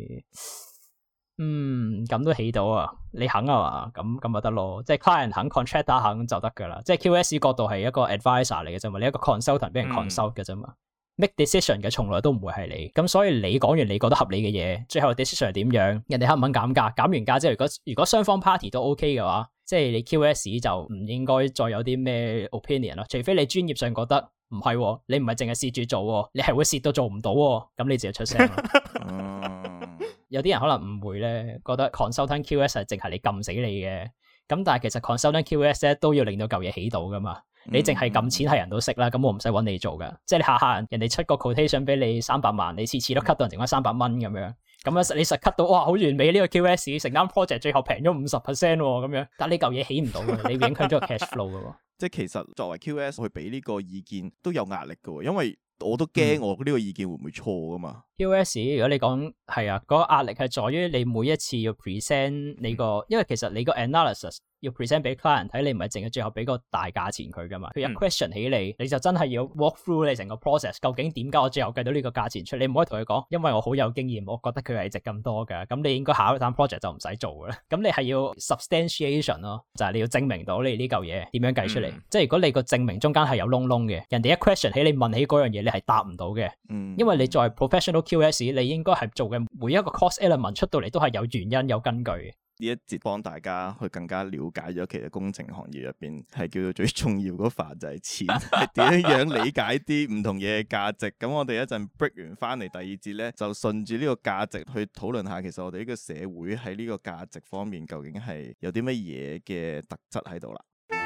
嗯咁都起到啊！你肯啊嘛？咁咁咪得咯，即係 client 肯 contractor 肯就得噶啦。即係 Q S 角度係一個 advisor 嚟嘅啫嘛，你一個 consultant 俾人 consult 嘅啫嘛。嗯make decision 嘅從來都唔會係你，咁所以你講完你覺得合理嘅嘢，最後 decision 係點樣，人哋肯唔肯減價，減完價之後，如果如果雙方 party 都 OK 嘅話，即係你 Q S 就唔應該再有啲咩 opinion 咯，除非你專業上覺得唔係喎，你唔係淨係蝕住做，你係會蝕到做唔到，咁你自己出聲咯。有啲人可能誤會咧，覺得 consultant Q S 係淨係你撳死你嘅，咁但係其實 consultant Q S 咧都要令到嚿嘢起到噶嘛。你淨係撳錢係人都識啦，咁我唔使揾你做噶，即係你下下人人哋出個 quotation 俾你三百萬，你次次都 cut 到人剩翻三百蚊咁樣，咁樣你實 cut 到哇好完美呢個 Q S， 成間 project 最後平咗五十 percent 咁樣，但係呢嚿嘢起唔到嘅，你影響咗個 cash flow 噶。即係其實作為 Q S 去俾呢個意見都有壓力噶，因為我都驚我呢個意見會唔會錯噶嘛。Q S 如果你講係啊，嗰、嗰個壓力係在於你每一次要 present 你個，因為其實你個 analysis。要 present 俾 client 睇，你唔係淨係最後俾個大價錢佢噶嘛？佢有 question 起你，你就真係要 walk through 你成個 process， 究竟點解我最後計到呢個價錢出？你唔可以同佢講，因為我好有經驗，我覺得佢係值咁多㗎。咁你應該下一單 project 就唔使做㗎啦。咁你係要 substantiation 咯，就係你要證明到你呢嚿嘢點樣計出嚟。嗯、即係如果你個證明中間係有窿窿嘅，人哋一 question 起你問起嗰樣嘢，你係答唔到嘅。嗯、因為你作為 professional Q S， 你應該係做嘅每一個 cost element 出到嚟都係有原因有根據嘅。 呢一節幫大家去更加了解咗，其實工程行業入邊係叫做最重要嗰範就係錢，係點樣理解啲唔同嘢嘅價值。咁我哋一陣 break 完翻嚟第二節咧，就順住呢個價值去討論下，其實我哋呢個社會喺呢個價值方面究竟係有啲乜嘢嘅特質喺度啦。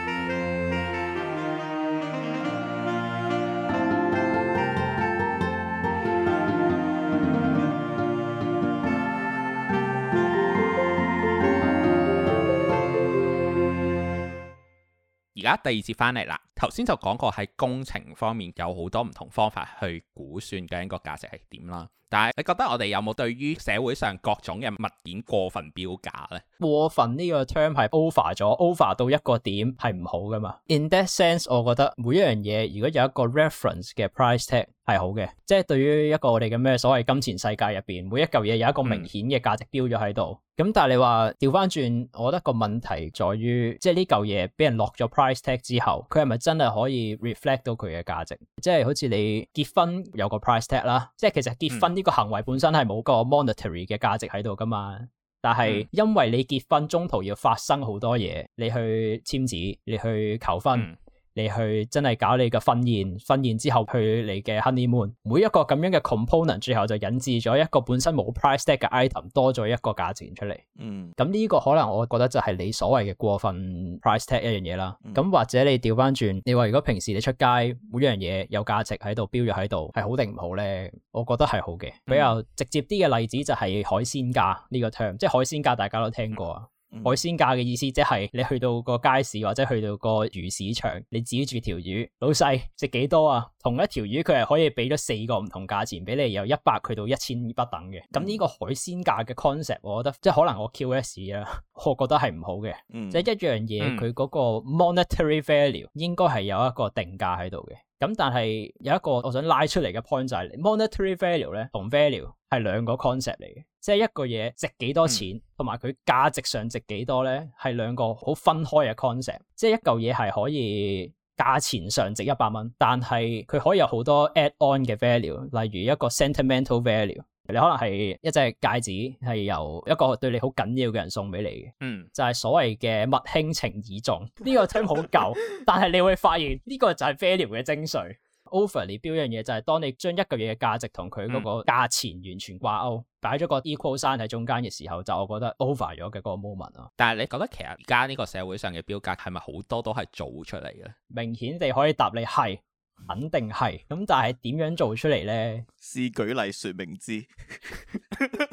而家第二節翻嚟啦，頭先就講過喺工程方面有好多唔同方法去估算究竟個價值係點啦。但係你覺得我哋有冇對於社會上各種嘅物件過分標價呢？ 過分呢個 term 係 over 咗 ，over 到一個點係唔好噶嘛。In that sense，我覺得每一樣嘢如果有一個 reference 嘅 price tag 係好嘅，即係對於一個我哋嘅咩所謂金錢世界入邊，每一嚿嘢有一個明顯嘅價值標咗喺度。咁、嗯、但係你話調翻轉，我覺得個問題在於，即係呢嚿嘢俾人落咗 price tag 之後，佢係咪真係可以 reflect 到佢嘅價值？即係好似你結婚有個 price tag 啦，即係其實結婚呢個行為本身係冇個 monetary 嘅價值喺度噶嘛。但係因為你結婚中途要發生好多嘢，你去簽字，你去求婚。嗯你去真係搞你嘅婚宴，婚宴之後去你嘅 honeymoon，每一個咁樣嘅 component， 最後就引致咗一個本身冇 price tag 嘅 item 多咗一個價錢出嚟。嗯，咁呢個可能我覺得就係你所謂嘅過分 price tag 一樣嘢啦。咁、嗯、或者你調翻轉，你話如果平時你出街每樣嘢有價值喺度標咗喺度，係好定唔好咧？我覺得係好嘅。比較直接啲嘅例子就係海鮮價呢個 term，即係海鮮價大家都聽過啊。海鮮價嘅意思即係你去到個街市或者去到個魚市場，你指住條魚，老細值幾多啊？同一條魚佢係可以俾咗四個唔同價錢俾你，由一百去到一千不等嘅。咁呢個海鮮價嘅 concept， 我覺得即係可能我 Q S 啊，我覺得係唔好嘅。嗯、即係一樣嘢，佢嗰個 monetary value 應該係有一個定價喺度嘅。咁但係有一個我想拉出嚟嘅 point 就係、是、monetary value 咧同 value 係兩個 concept 嚟嘅，即係一個嘢值幾多錢同埋佢價值上值幾多咧係兩個好分開嘅 concept。即係一嚿嘢係可以價錢上值一百蚊，但係佢可以有好多 add on 嘅 value， 例如一個 sentimental value。你可能係一隻戒指係由一個對你好緊要嘅人送俾你嘅，嗯，就係所謂嘅物輕情意重。呢個 term 好舊，但係你會發現呢個就係 value 嘅精髓。Overly 標一樣嘢就係當你將一個嘢嘅價值同佢嗰個價錢完全掛鈎，擺咗個 equal sign 喺中間嘅時候，就我覺得 over 咗嘅嗰個 moment 咯。 但係你覺得其實而家呢個社會上嘅標價係咪好多都係做出嚟嘅？ 明顯地可以答你係。肯定係，咁但係點樣做出嚟咧？ 試舉例說明之。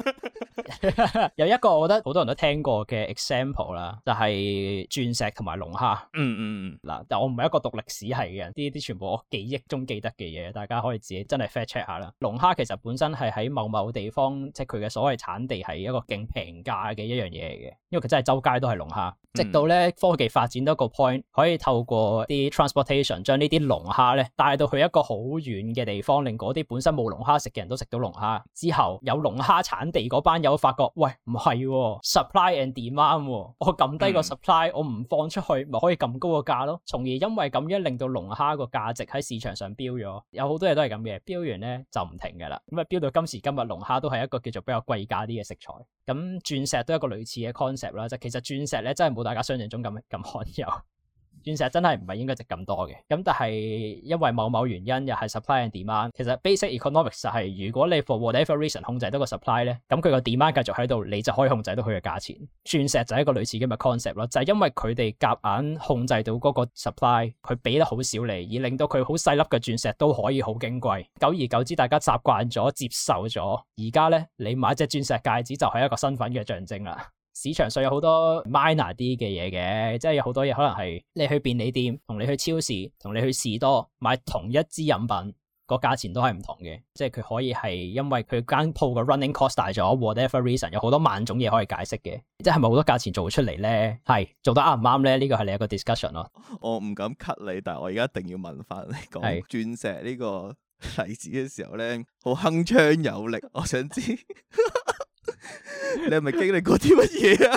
有一個我覺得好多人都聽過嘅 example 啦，就係鑽石同埋龍蝦。 嗯嗯嗯。 嗱，但我唔係一個讀歷史系嘅人，呢啲全部我記憶中記得嘅嘢，大家可以自己真係 fact check 下啦。龍蝦其實本身係喺某某地方，即係佢嘅所謂產地係一個勁平價嘅一樣嘢嚟嘅，因為佢真係周街都係龍蝦。直到咧科技發展到一個 point，可以透過啲 transportation 將呢啲龍蝦咧帶到去一個好遠嘅地方，令嗰啲本身冇龍蝦食嘅人都食到龍蝦。之後有龍蝦產地嗰班友發覺，喂，唔係喎 supply and demand 喎，我撳低個 supply，我唔放出去，咪可以咁高個價咯。從而因為咁樣令到龍蝦個價值喺市場上飆咗。有好多嘢都係咁嘅，飆完咧就唔停㗎啦。咁啊飆到今時今日，龍蝦都係一個叫做比較貴價啲嘅食材。咁鑽石都係一個類似嘅 concept 啦，就其實鑽石咧真係冇大家想象中咁咁罕有。鑽石真係唔係應該值咁多嘅，咁但係因為某某原因又係 supply and demand，其實 basic economics 就係如果你 for whatever reason 控制到個 supply 咧，咁佢個 demand 繼續喺度，你就可以控制到佢嘅價錢。鑽石就係一個類似咁嘅 concept 咯，就係因為佢哋夾硬控制到嗰個 supply，佢俾得好少你，而令到佢好細粒嘅鑽石都可以好矜貴。久而久之，大家習慣咗接受咗，而家咧你買隻鑽石戒指就係一個身份嘅象徵啦。市場上有好多 minor 啲嘅嘢嘅，即係有好多嘢可能係你去便利店同你去超市同你去士多買同一支飲品個價錢都係唔同嘅，即係佢可以係因為佢間鋪嘅 running cost 大咗 whatever reason， 有好多萬種嘢可以解釋嘅，即係咪好多價錢做出嚟咧？係做得啱唔啱咧？呢個係另一個 discussion 咯。我唔敢 cut 你，但係我而家一定要問翻你講鑽石呢個例子嘅時候咧，好鏗鏘有力，我想知。你係咪經歷過啲乜嘢啊？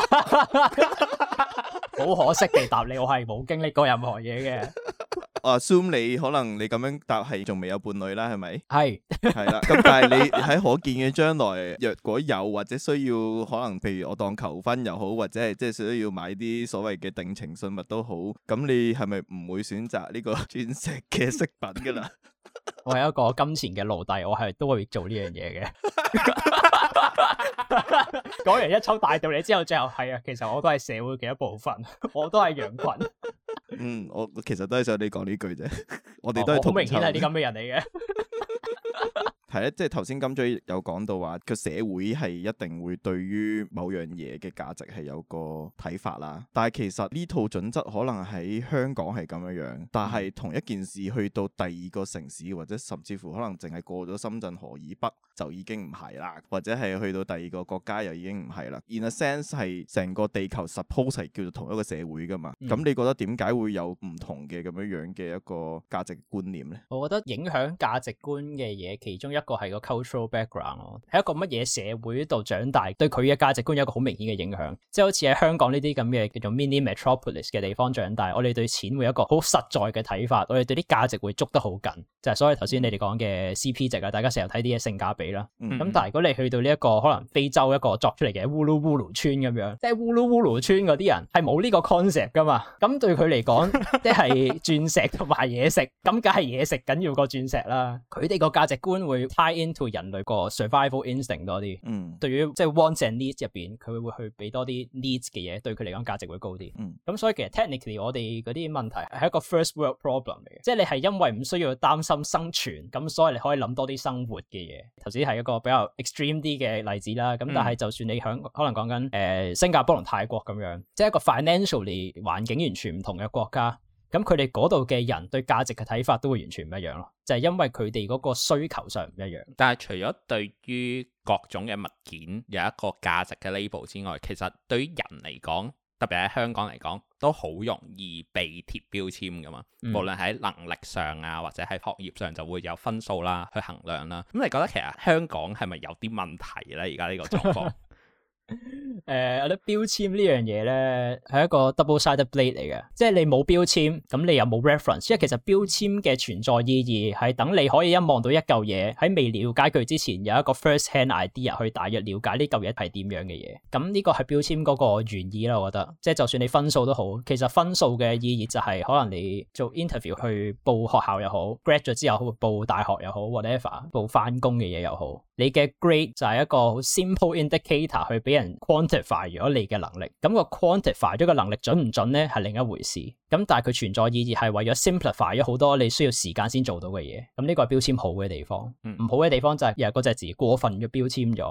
好可惜地答你，我係冇經歷過任何嘢嘅。 我 assume 你可能你咁樣答係仲未有伴侶啦，係咪？ 係係啦。咁但係你喺可見嘅將來，若果有或者需要，可能譬如我當求婚又好，或者係即係需要買啲所謂嘅定情信物都好，咁你係咪唔會選擇呢個鑽石嘅飾品噶啦？ 我係一個金錢嘅奴隸，我係都會做呢樣嘢嘅。講完一抽大道理之後，最後係啊，其實我都係社會嘅一部分，我都係羊群。 嗯，我其實都係想你講呢句啫，我哋都係同好明顯係啲咁嘅人嚟嘅。 係咧，即係頭先金嘴有講到話個社會係一定會對於某樣嘢嘅價值係有個睇法啦。但係其實呢套準則可能喺香港係咁樣樣，但係同一件事去到第二個城市或者甚至乎可能淨係過咗深圳河以北就已經唔係啦，或者係去到第二個國家又已經唔係啦。In a sense 係成個地球 suppose 係叫做同一個社會噶嘛。咁、嗯、你覺得點解會有唔同嘅咁樣樣嘅一個價值觀念呢？ 我覺得影響價值觀嘅嘢，其中一個係個 cultural background 咯，喺一個乜嘢社會度長大，對佢嘅價值觀有一個好明顯嘅影響。即係好似喺香港呢啲咁嘅叫做 mini metropolis 嘅地方長大，我哋對錢會有一個好實在嘅睇法，我哋對啲價值會捉得好緊，就係、是、所以頭先你哋講嘅 C P 值啊，大家成日睇啲嘢性價比啦。咁、嗯、但係如果你去到呢、這、一個可能非洲一個作出嚟嘅烏魯烏魯村咁樣，即係烏魯烏魯村嗰啲人係冇呢個 concept 噶嘛，咁對佢嚟講，即係鑽石同埋嘢食，咁梗係嘢食緊要過鑽石啦。佢哋個價值觀會 tie into 人類個 survival instinct 多啲。嗯，對於即係 wants and needs 入邊，佢會去俾多啲 needs 嘅嘢，對佢嚟講價值會高啲。嗯，咁所以其實 technically 我哋嗰啲問題係一個 first world problem 嚟嘅，即係你係因為唔需要擔心生存，咁所以你可以諗多啲生活嘅嘢。頭先係一個比較 extreme 啲嘅例子啦，咁但係就算你響可能講緊誒新加坡同泰國咁樣，即係一個 financially 環境完全唔同嘅國家。咁佢哋嗰度嘅人對價值嘅睇法都會完全唔一樣咯，就係因為佢哋嗰個需求上唔一樣。但係除咗對於各種嘅物件有一個價值嘅 label 之外，其實對於人嚟講，特別喺香港嚟講，都好容易被貼標籤噶嘛。嗯、無論喺能力上啊，或者喺學業上，就會有分數啦去衡量啦。咁你覺得其實香港係咪有啲問題咧？而家呢個狀況？誒、呃，我覺得標籤呢樣嘢咧係一個 double-sided blade 嚟嘅，即係你冇標籤，咁你又冇 reference，因為其實標籤嘅存在意義係等你可以一望到一嚿嘢，喺未了解佢之前有一個 first-hand idea 去大約了解呢嚿嘢係點樣嘅嘢，咁呢個係標籤嗰個原意啦。我覺得，即係就算你分數都好，其實分數嘅意義就係可能你做 interview 去報學校又好 ，grad 咗之後報大學又好 ，whatever 報翻工嘅嘢又好，你嘅 grade 就係一個好 simple indicator 去俾人 quantify 咗你嘅能力，咁個 quantify 咗個能力準唔準咧係另一回事，咁但係佢存在意義係為咗 simplify 咗好多你需要時間先做到嘅嘢，咁呢個係標籤好嘅地方，唔、嗯、好嘅地方就係又係嗰隻字過分嘅標籤咗，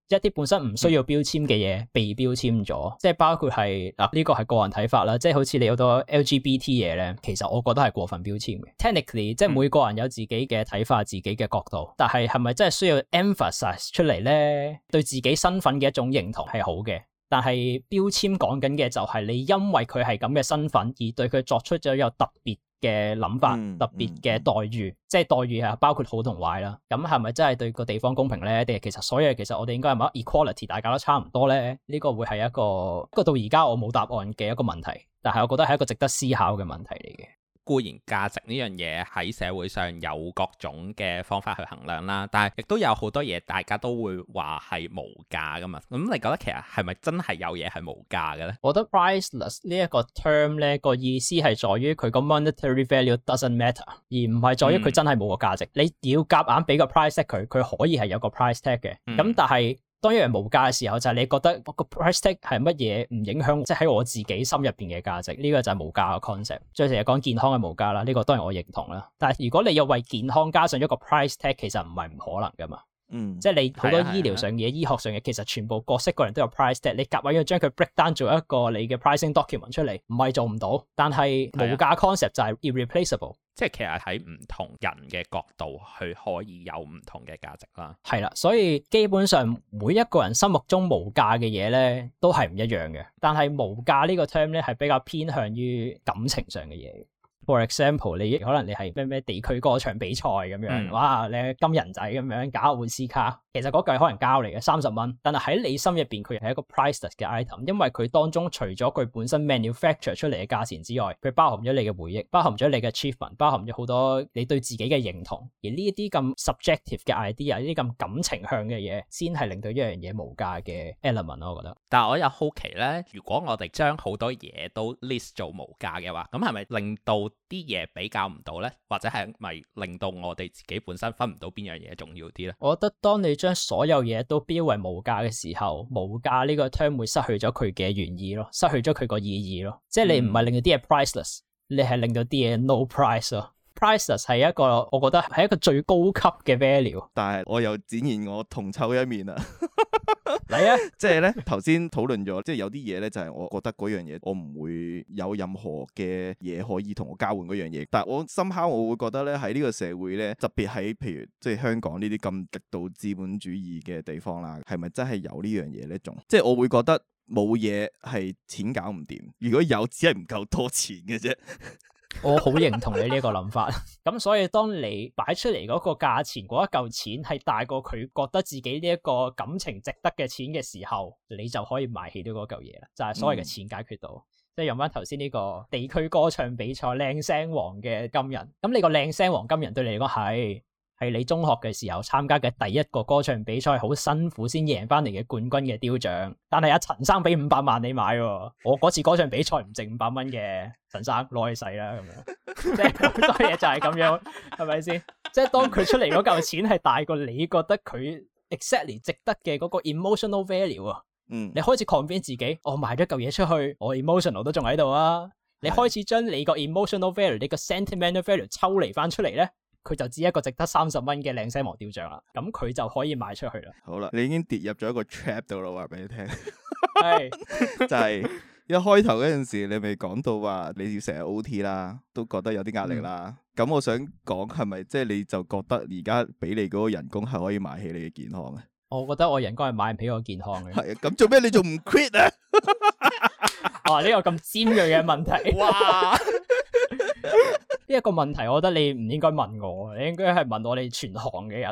一啲本身唔需要標籤嘅嘢被標籤咗，即係包括係嗱呢個係個人睇法啦，即係好似你好多 L G B T 嘢咧，其實我覺得係過分標籤嘅。Technically，即係每個人有自己嘅睇法、自己嘅角度，但係係咪真係需要 emphasize 出嚟咧？對自己身份嘅一種認同係好嘅，但係標籤講緊嘅就係你因為佢係咁嘅身份而對佢作出咗有特別嘅諗法，嗯、特別嘅待遇，嗯、即係待遇係包括好同壞啦。咁係咪真係對個地方公平咧？定係其實所有其實我哋應該係咪 equality， 大家都差唔多咧？呢、呢個會係一個，不過到而家我冇答案嘅一個問題，但係我覺得係一個值得思考嘅問題嚟嘅。 固然價值呢樣嘢喺社會上有各種嘅方法去衡量啦，但係亦都有好多嘢大家都會話係無價噶嘛。咁你覺得其實係咪真係有嘢係無價嘅咧？ 我覺得 priceless 呢一個 term 咧個意思係在於佢個 monetary value doesn't matter， 而唔係在於佢真係冇個價值。嗯、你要夾硬俾個 price tag 佢，佢可以係有個 price tag 嘅。咁、嗯、但係當一樣無價嘅時候，就係、是、你覺得個 price tag 係乜嘢唔影響，即係喺我自己心入邊嘅價值，呢、這個就係無價嘅 concept。最成日講健康係無價啦，呢、這個當然我認同啦。但係如果你要為健康加上一個 price tag，其實唔係唔可能噶嘛。嗯，即係你好多醫療上嘅嘢、啊啊、醫學上嘅，其實全部各式各人都有 price tag。你夾硬要將佢 break down 做一個你嘅 pricing document 出嚟，唔係做唔到。但係無價 concept 就係 irreplaceable。 即係其實喺唔同人嘅角度去可以有唔同嘅價值啦。 係啦，所以基本上每一個人心目中無價嘅嘢咧，都係唔一樣嘅。但係無價呢個 term 咧，係比較偏向於感情上嘅嘢。For example， 你可能你係咩咩地區歌唱比賽咁樣，嗯、哇，你係金人仔咁樣搞換 C 卡，其實嗰嚿可能膠嚟嘅三十蚊，但係喺你心入邊佢係一個 priceless 嘅 item，因為佢當中除咗佢本身 manufacture 出嚟嘅價錢之外，佢包含咗你嘅回憶，包含咗你嘅 achievement， 包含咗好多你對自己嘅認同，而呢一啲咁 subjective 嘅 idea， 呢啲咁感情向嘅嘢，先係令到一樣嘢無價嘅 element 咯，我覺得。 但係我又好奇咧，如果我哋將好多嘢都 list 做無價嘅話，咁係咪令到啲嘢比較唔到呢？或者係咪令到我哋自己本身分唔到邊樣嘢重要啲呢？ 我覺得當你將所有嘢都標為無價嘅時候，無價呢個 term 會失去咗佢嘅原意咯，失去咗佢個意義咯。即係你唔係令到啲嘢 priceless，你係令到啲嘢 no price 咯。priceless 係一個我覺得係一個最高級嘅 value。 但係我又展現我銅臭一面啊！ 嚟啊！ 即係咧，頭先討論咗，即係有啲嘢咧，就係我覺得嗰樣嘢，我唔會有任何嘅嘢可以同我交換嗰樣嘢。但係我深刻我會覺得咧，喺呢個社會咧，特別喺譬如即係香港呢啲咁極度資本主義嘅地方啦，係咪真係有呢樣嘢呢？仲即係我會覺得冇嘢係錢搞唔掂，如果有，只係唔夠多錢嘅啫。 我好認同你呢個諗法，咁所以當你擺出嚟嗰個價錢嗰一嚿錢係大過佢覺得自己呢一個感情值得嘅錢嘅時候，你就可以買起到嗰嚿嘢啦，就係、是、所謂嘅錢解決到。嗯、即係用翻頭先呢個地區歌唱比賽靚聲王嘅金人，咁你個靚聲王金人對你嚟講係係你中學嘅時候參加嘅第一個歌唱比賽，好辛苦先贏翻嚟嘅冠軍嘅雕像。但係阿陳生俾五百萬你買喎，我嗰次歌唱比賽唔值五百蚊嘅，陳生攞去使啦咁樣。即係好多嘢就係咁樣，係咪先？即係當佢出嚟嗰嚿錢係大過你覺得佢 exactly 值得嘅嗰個 emotional value 啊，嗯，你開始 convince 自己，我賣咗嚿嘢出去，我 emotional 都仲喺度啊。你開始將你個 emotional value、你個 sentimental value 抽離翻出嚟咧。佢就只一個值得三十蚊嘅靚聲王雕像啦，咁佢就可以賣出去啦。 好啦，你已經跌入咗一個 trap 度啦，話俾你聽。 係就係一開頭嗰陣時，你咪講到話你要成日 O T 啦，都覺得有啲壓力啦。咁、嗯、我想講係咪即係你就覺得而家俾你嗰個人工係可以買起你嘅健康啊？我覺得我人工係買唔起我健康嘅。 係啊，咁做咩你仲唔 quit 啊？ 哇！呢、這個咁尖銳嘅問題。哇！呢一個問題，我覺得你唔應該問我，你應該係問我哋全行嘅人。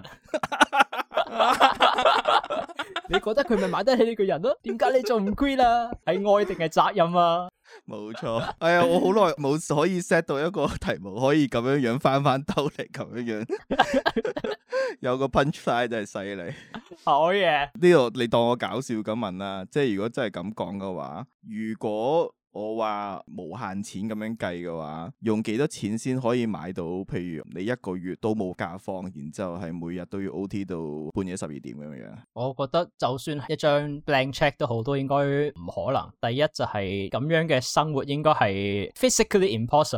你覺得佢咪買得起呢個人咯？點解你仲唔 quit 啊？係愛定係責任啊？ 冇錯。哎呀，我好耐冇可以 set 到一個題目，可以咁樣樣翻翻兜嚟咁樣樣。有個 punchline 真係犀利。 好嘢。 呢度你當我搞笑咁問啦，即係如果真係咁講嘅話，如果我話無限錢咁樣計嘅話，用幾多錢先可以買到？譬如你一個月都冇假放，然之後係每日都要 O T 到半夜十二點咁樣。 我覺得就算一張 blank check 都好，都應該唔可能。第一就係咁樣嘅生活應該係 physically impossible，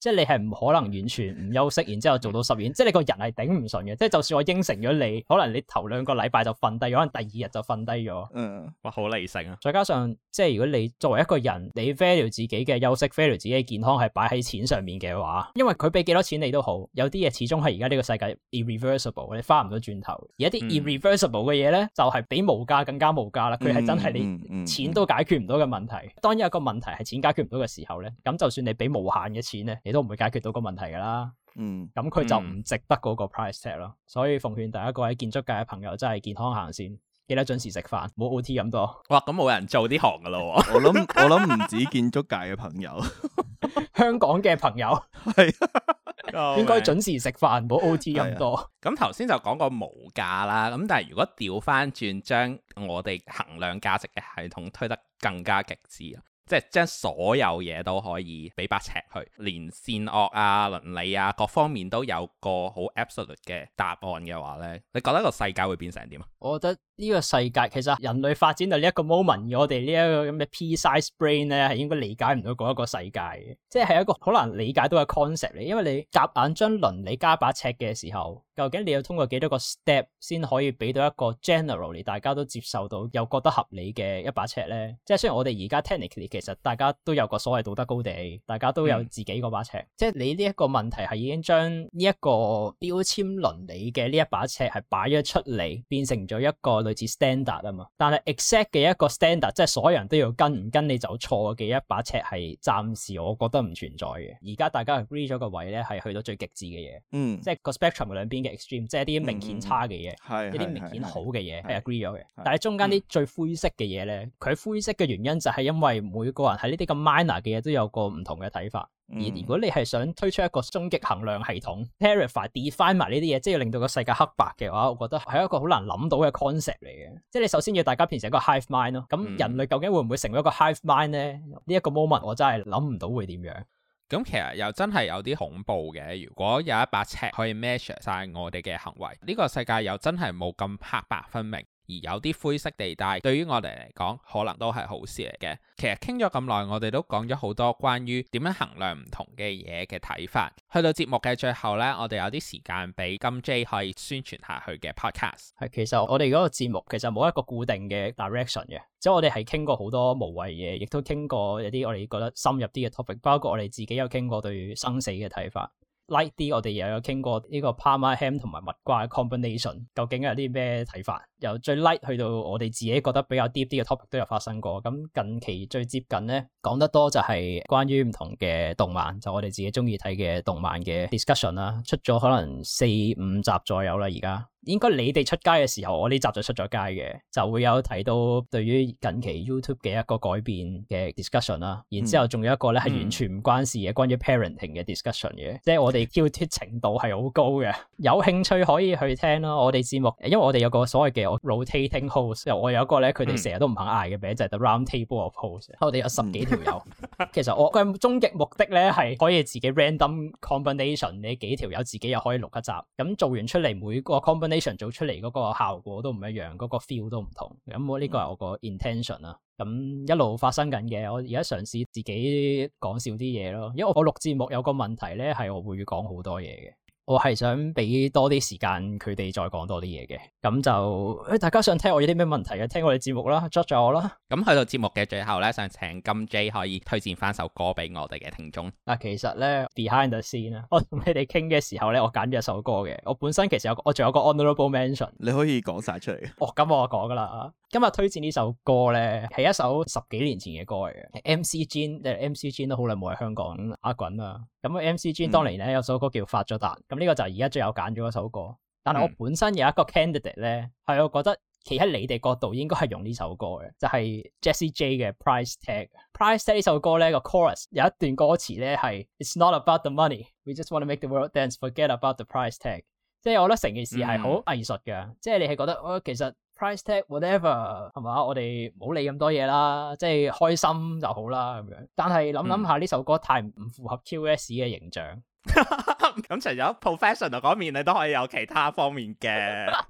即係你係唔可能完全唔休息，然之後做到十點，即係你個人係頂唔順嘅。即係就算我應承咗你，可能你頭兩個禮拜就瞓低咗，可能第二日就瞓低咗。 嗯， 哇，好理性啊！ 再加上即係如果你作為一個人，你 value 自己嘅休息 value 自己嘅健康係擺喺錢上面嘅話，因為佢俾幾多錢你都好，有啲嘢始終係而家呢個世界 irreversible， 你翻唔到轉頭。而一啲 irreversible 嘅嘢咧，就係比無價更加無價啦。佢係真係你錢都解決唔到嘅問題。當有一個問題係錢解決唔到嘅時候咧，咁就算你俾無限嘅錢咧，你都唔會解決到個問題噶啦。 嗯， 咁佢就唔值得嗰個 price tag 咯。所以奉勸第一個喺建築界嘅朋友，真係健康行先。記得準時食飯，冇 O T 咁多。 哇，咁冇人做呢行噶咯。 我諗我諗唔止建築界嘅朋友， 香港嘅朋友係應該準時食飯，冇 O T 咁多。 咁頭先就講過無價啦，咁但係如果調翻轉，將我哋衡量價值嘅系統推得更加極致啊！即係將所有嘢都可以俾把尺去，連善惡啊、倫理啊各方面都有個好 absolute 嘅答案嘅話呢，你覺得個世界會變成點啊？ 我覺得呢個世界其實人類發展到呢一個 moment，我哋呢一個咁嘅 pea-sized brain 咧係應該理解唔到嗰一個世界嘅，即係係一個好難理解到嘅 concept 嚟。因為你夾硬將倫理加把尺嘅時候，究竟你要通過幾多個 step 先可以俾到一個 generally 大家都接受到又覺得合理嘅一把尺呢？即係雖然我哋而家 technically 其實大家都有個所謂道德高地，大家都有自己嗰把尺，嗯、即係你呢一個問題係已經將呢一個標籤倫理嘅呢一把尺係擺咗出嚟，變成咗一個類似 standard 啊嘛。但係 exact 嘅一個 standard， 即係所有人都要跟，唔跟你就錯嘅一把尺係暫時我覺得唔存在嘅。而家大家 agree 咗個位咧係去到最極致嘅嘢，嗯，即係個 spectrum 兩邊嘅 extreme， 即係啲明顯差嘅嘢，嗯、一啲明顯好嘅嘢係 agree 咗嘅。但係中間啲最灰色嘅嘢咧，佢灰色嘅原因就係因為每個人喺呢啲咁 minor 嘅嘢都有個唔同嘅睇法。而如果你係想推出一個終極衡量系統 clarify define 埋呢啲嘢，即係要令到個世界黑白嘅話，我覺得係一個好難諗到嘅 concept 嚟嘅。即係你首先要大家變成一個 hive mind 咯。咁人類究竟會唔會成為一個 hive mind 咧？呢一個 moment 我真係諗唔到會點樣。 咁其實又真係有啲恐怖嘅。如果有一把尺可以 measure 晒我哋嘅行為，呢個世界又真係冇咁黑白分明。而有啲灰色地帶，對於我哋嚟講，可能都係好事嚟嘅。其實傾咗咁耐，我哋都講咗好多關於點樣衡量唔同嘅嘢嘅睇法。去到節目嘅最後呢，我哋有啲時間俾金 J 可以宣傳下去嘅 podcast。 係，其實我哋嗰個節目其實冇一個固定嘅 direction 嘅，即係我哋係傾過好多無謂嘢，亦都傾過一啲我哋覺得深入啲嘅 topic，包括我哋自己有傾過對生死嘅睇法。light 啲，我哋又有傾過呢個 Parma ham 同埋蜜瓜嘅 combination， 究竟有啲咩睇法？由最 light 去到我哋自己覺得比較 deep 啲嘅 topic 都有發生過。咁近期最接近咧，講得多就係關於唔同嘅動漫，就我哋自己中意睇嘅動漫嘅 discussion 啦，出咗可能四五集左右啦，而家。應該你哋出街嘅時候，我呢集就出咗街嘅，就會有提到對於近期 YouTube 嘅一個改變嘅 discussion 啦。然之後仲有一個咧係完全唔關事嘅，關於 parenting 嘅 discussion 嘅，即係我哋挑剔程度係好高嘅。有興趣可以去聽咯。我哋節目，因為我哋有個所謂嘅 rotating host， 我有一個咧，佢哋成日都唔肯嗌嘅名就係 The Round Table of Hosts。我哋有十幾條友。其實我嘅終極目的咧係可以自己 random combination， 你幾條友自己又可以錄一集。咁做完出嚟每個 combination。做出嚟嗰個效果都唔一樣，嗰個 feel 都唔同。咁我呢個係我個 intention 啦。咁一路發生緊嘅，我而家嘗試自己講少啲嘢咯。因為我錄節目有個問題咧，係我會講好多嘢嘅。我係想俾多啲時間佢哋再講多啲嘢嘅，咁就誒大家想聽我有啲咩問題嘅，聽我哋節目啦 judge 咗我啦。咁去到節目嘅最後咧，想請金 J 可以推薦翻首歌俾我哋嘅聽眾。嗱，其實咧 behind the scene 啊，我同你哋傾嘅時候咧，我揀咗一首歌嘅。我本身其實有我仲有個 honorable mention， 你可以講晒出嚟。哦，咁我講噶啦。今日推薦呢首歌咧，係一首十幾年前嘅歌嚟嘅。M C Jin， 誒 M C Jin 都好耐冇喺香港打滾啦。咁 M C Jin 當年咧有首歌叫發咗達，咁呢個就係而家最有揀咗一首歌。但係我本身有一個 candidate 咧，係我覺得企喺你哋角度應該係用呢首歌嘅，就係 Jessie J 嘅 Price Tag。Price Tag 呢首歌咧個 chorus 有一段歌詞咧係 It's not about the money, we just want to make the world dance, forget about the price tag。即係我覺得成件事係好藝術嘅，嗯、即係你係覺得哦，其實 price tag whatever 係嘛，我哋唔好理咁多嘢啦，即係開心就好啦咁樣。但係諗諗下呢首歌太唔符合 Q S 嘅形象。咁除咗 professional 嗰面，你都可以有其他方面嘅。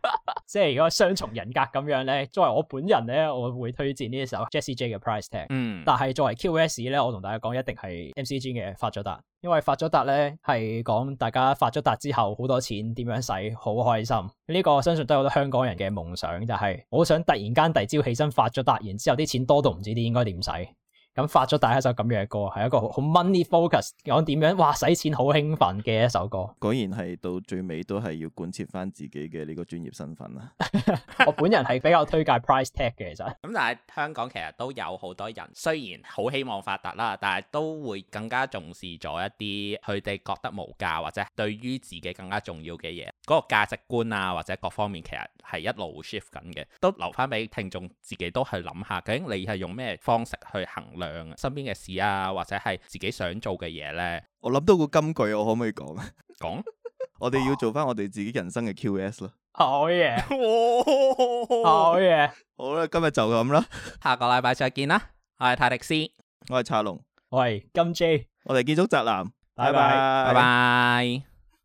即係如果雙重人格咁樣咧，作為我本人咧，我會推薦呢首 Jessie J 嘅 Price Tag。嗯，但係作為 Q S 咧，我同大家講一定係 M C G 嘅發咗達，因為發咗達咧係講大家發咗達之後好多錢點樣使好開心。呢、這個相信都係好多香港人嘅夢想，就係、是、我想突然間第二朝起身發咗達，然之後啲錢多到唔知啲應該點使。咁發咗達一首咁樣嘅歌，係一個好 money focus 講點樣，哇使錢好興奮嘅一首歌。 果然係到最尾都係要貫徹翻自己嘅呢個專業身份啦。 我本人係比較推介 Price Tag 嘅，其實。 咁但係香港其實都有好多人，雖然好希望發達啦，但係都會更加重視咗一啲佢哋覺得無價或者對於自己更加重要嘅嘢，嗰個價值觀啊或者各方面其實係一路 shift 緊嘅，都留翻俾聽眾自己都去諗下，究竟你係用咩方式去衡量身邊嘅事啊，或者係自己想做嘅嘢呢？ 我諗到個金句，我可唔可以講啊？ 講， 我哋要做翻我哋自己人生嘅 Q S 咯。 好嘢，好嘢， 好啦，今日就咁啦， 下個禮拜再見啦。我係泰迪斯， 我係查龍， 我係金 J， 我哋建築宅男， 拜拜， 拜拜。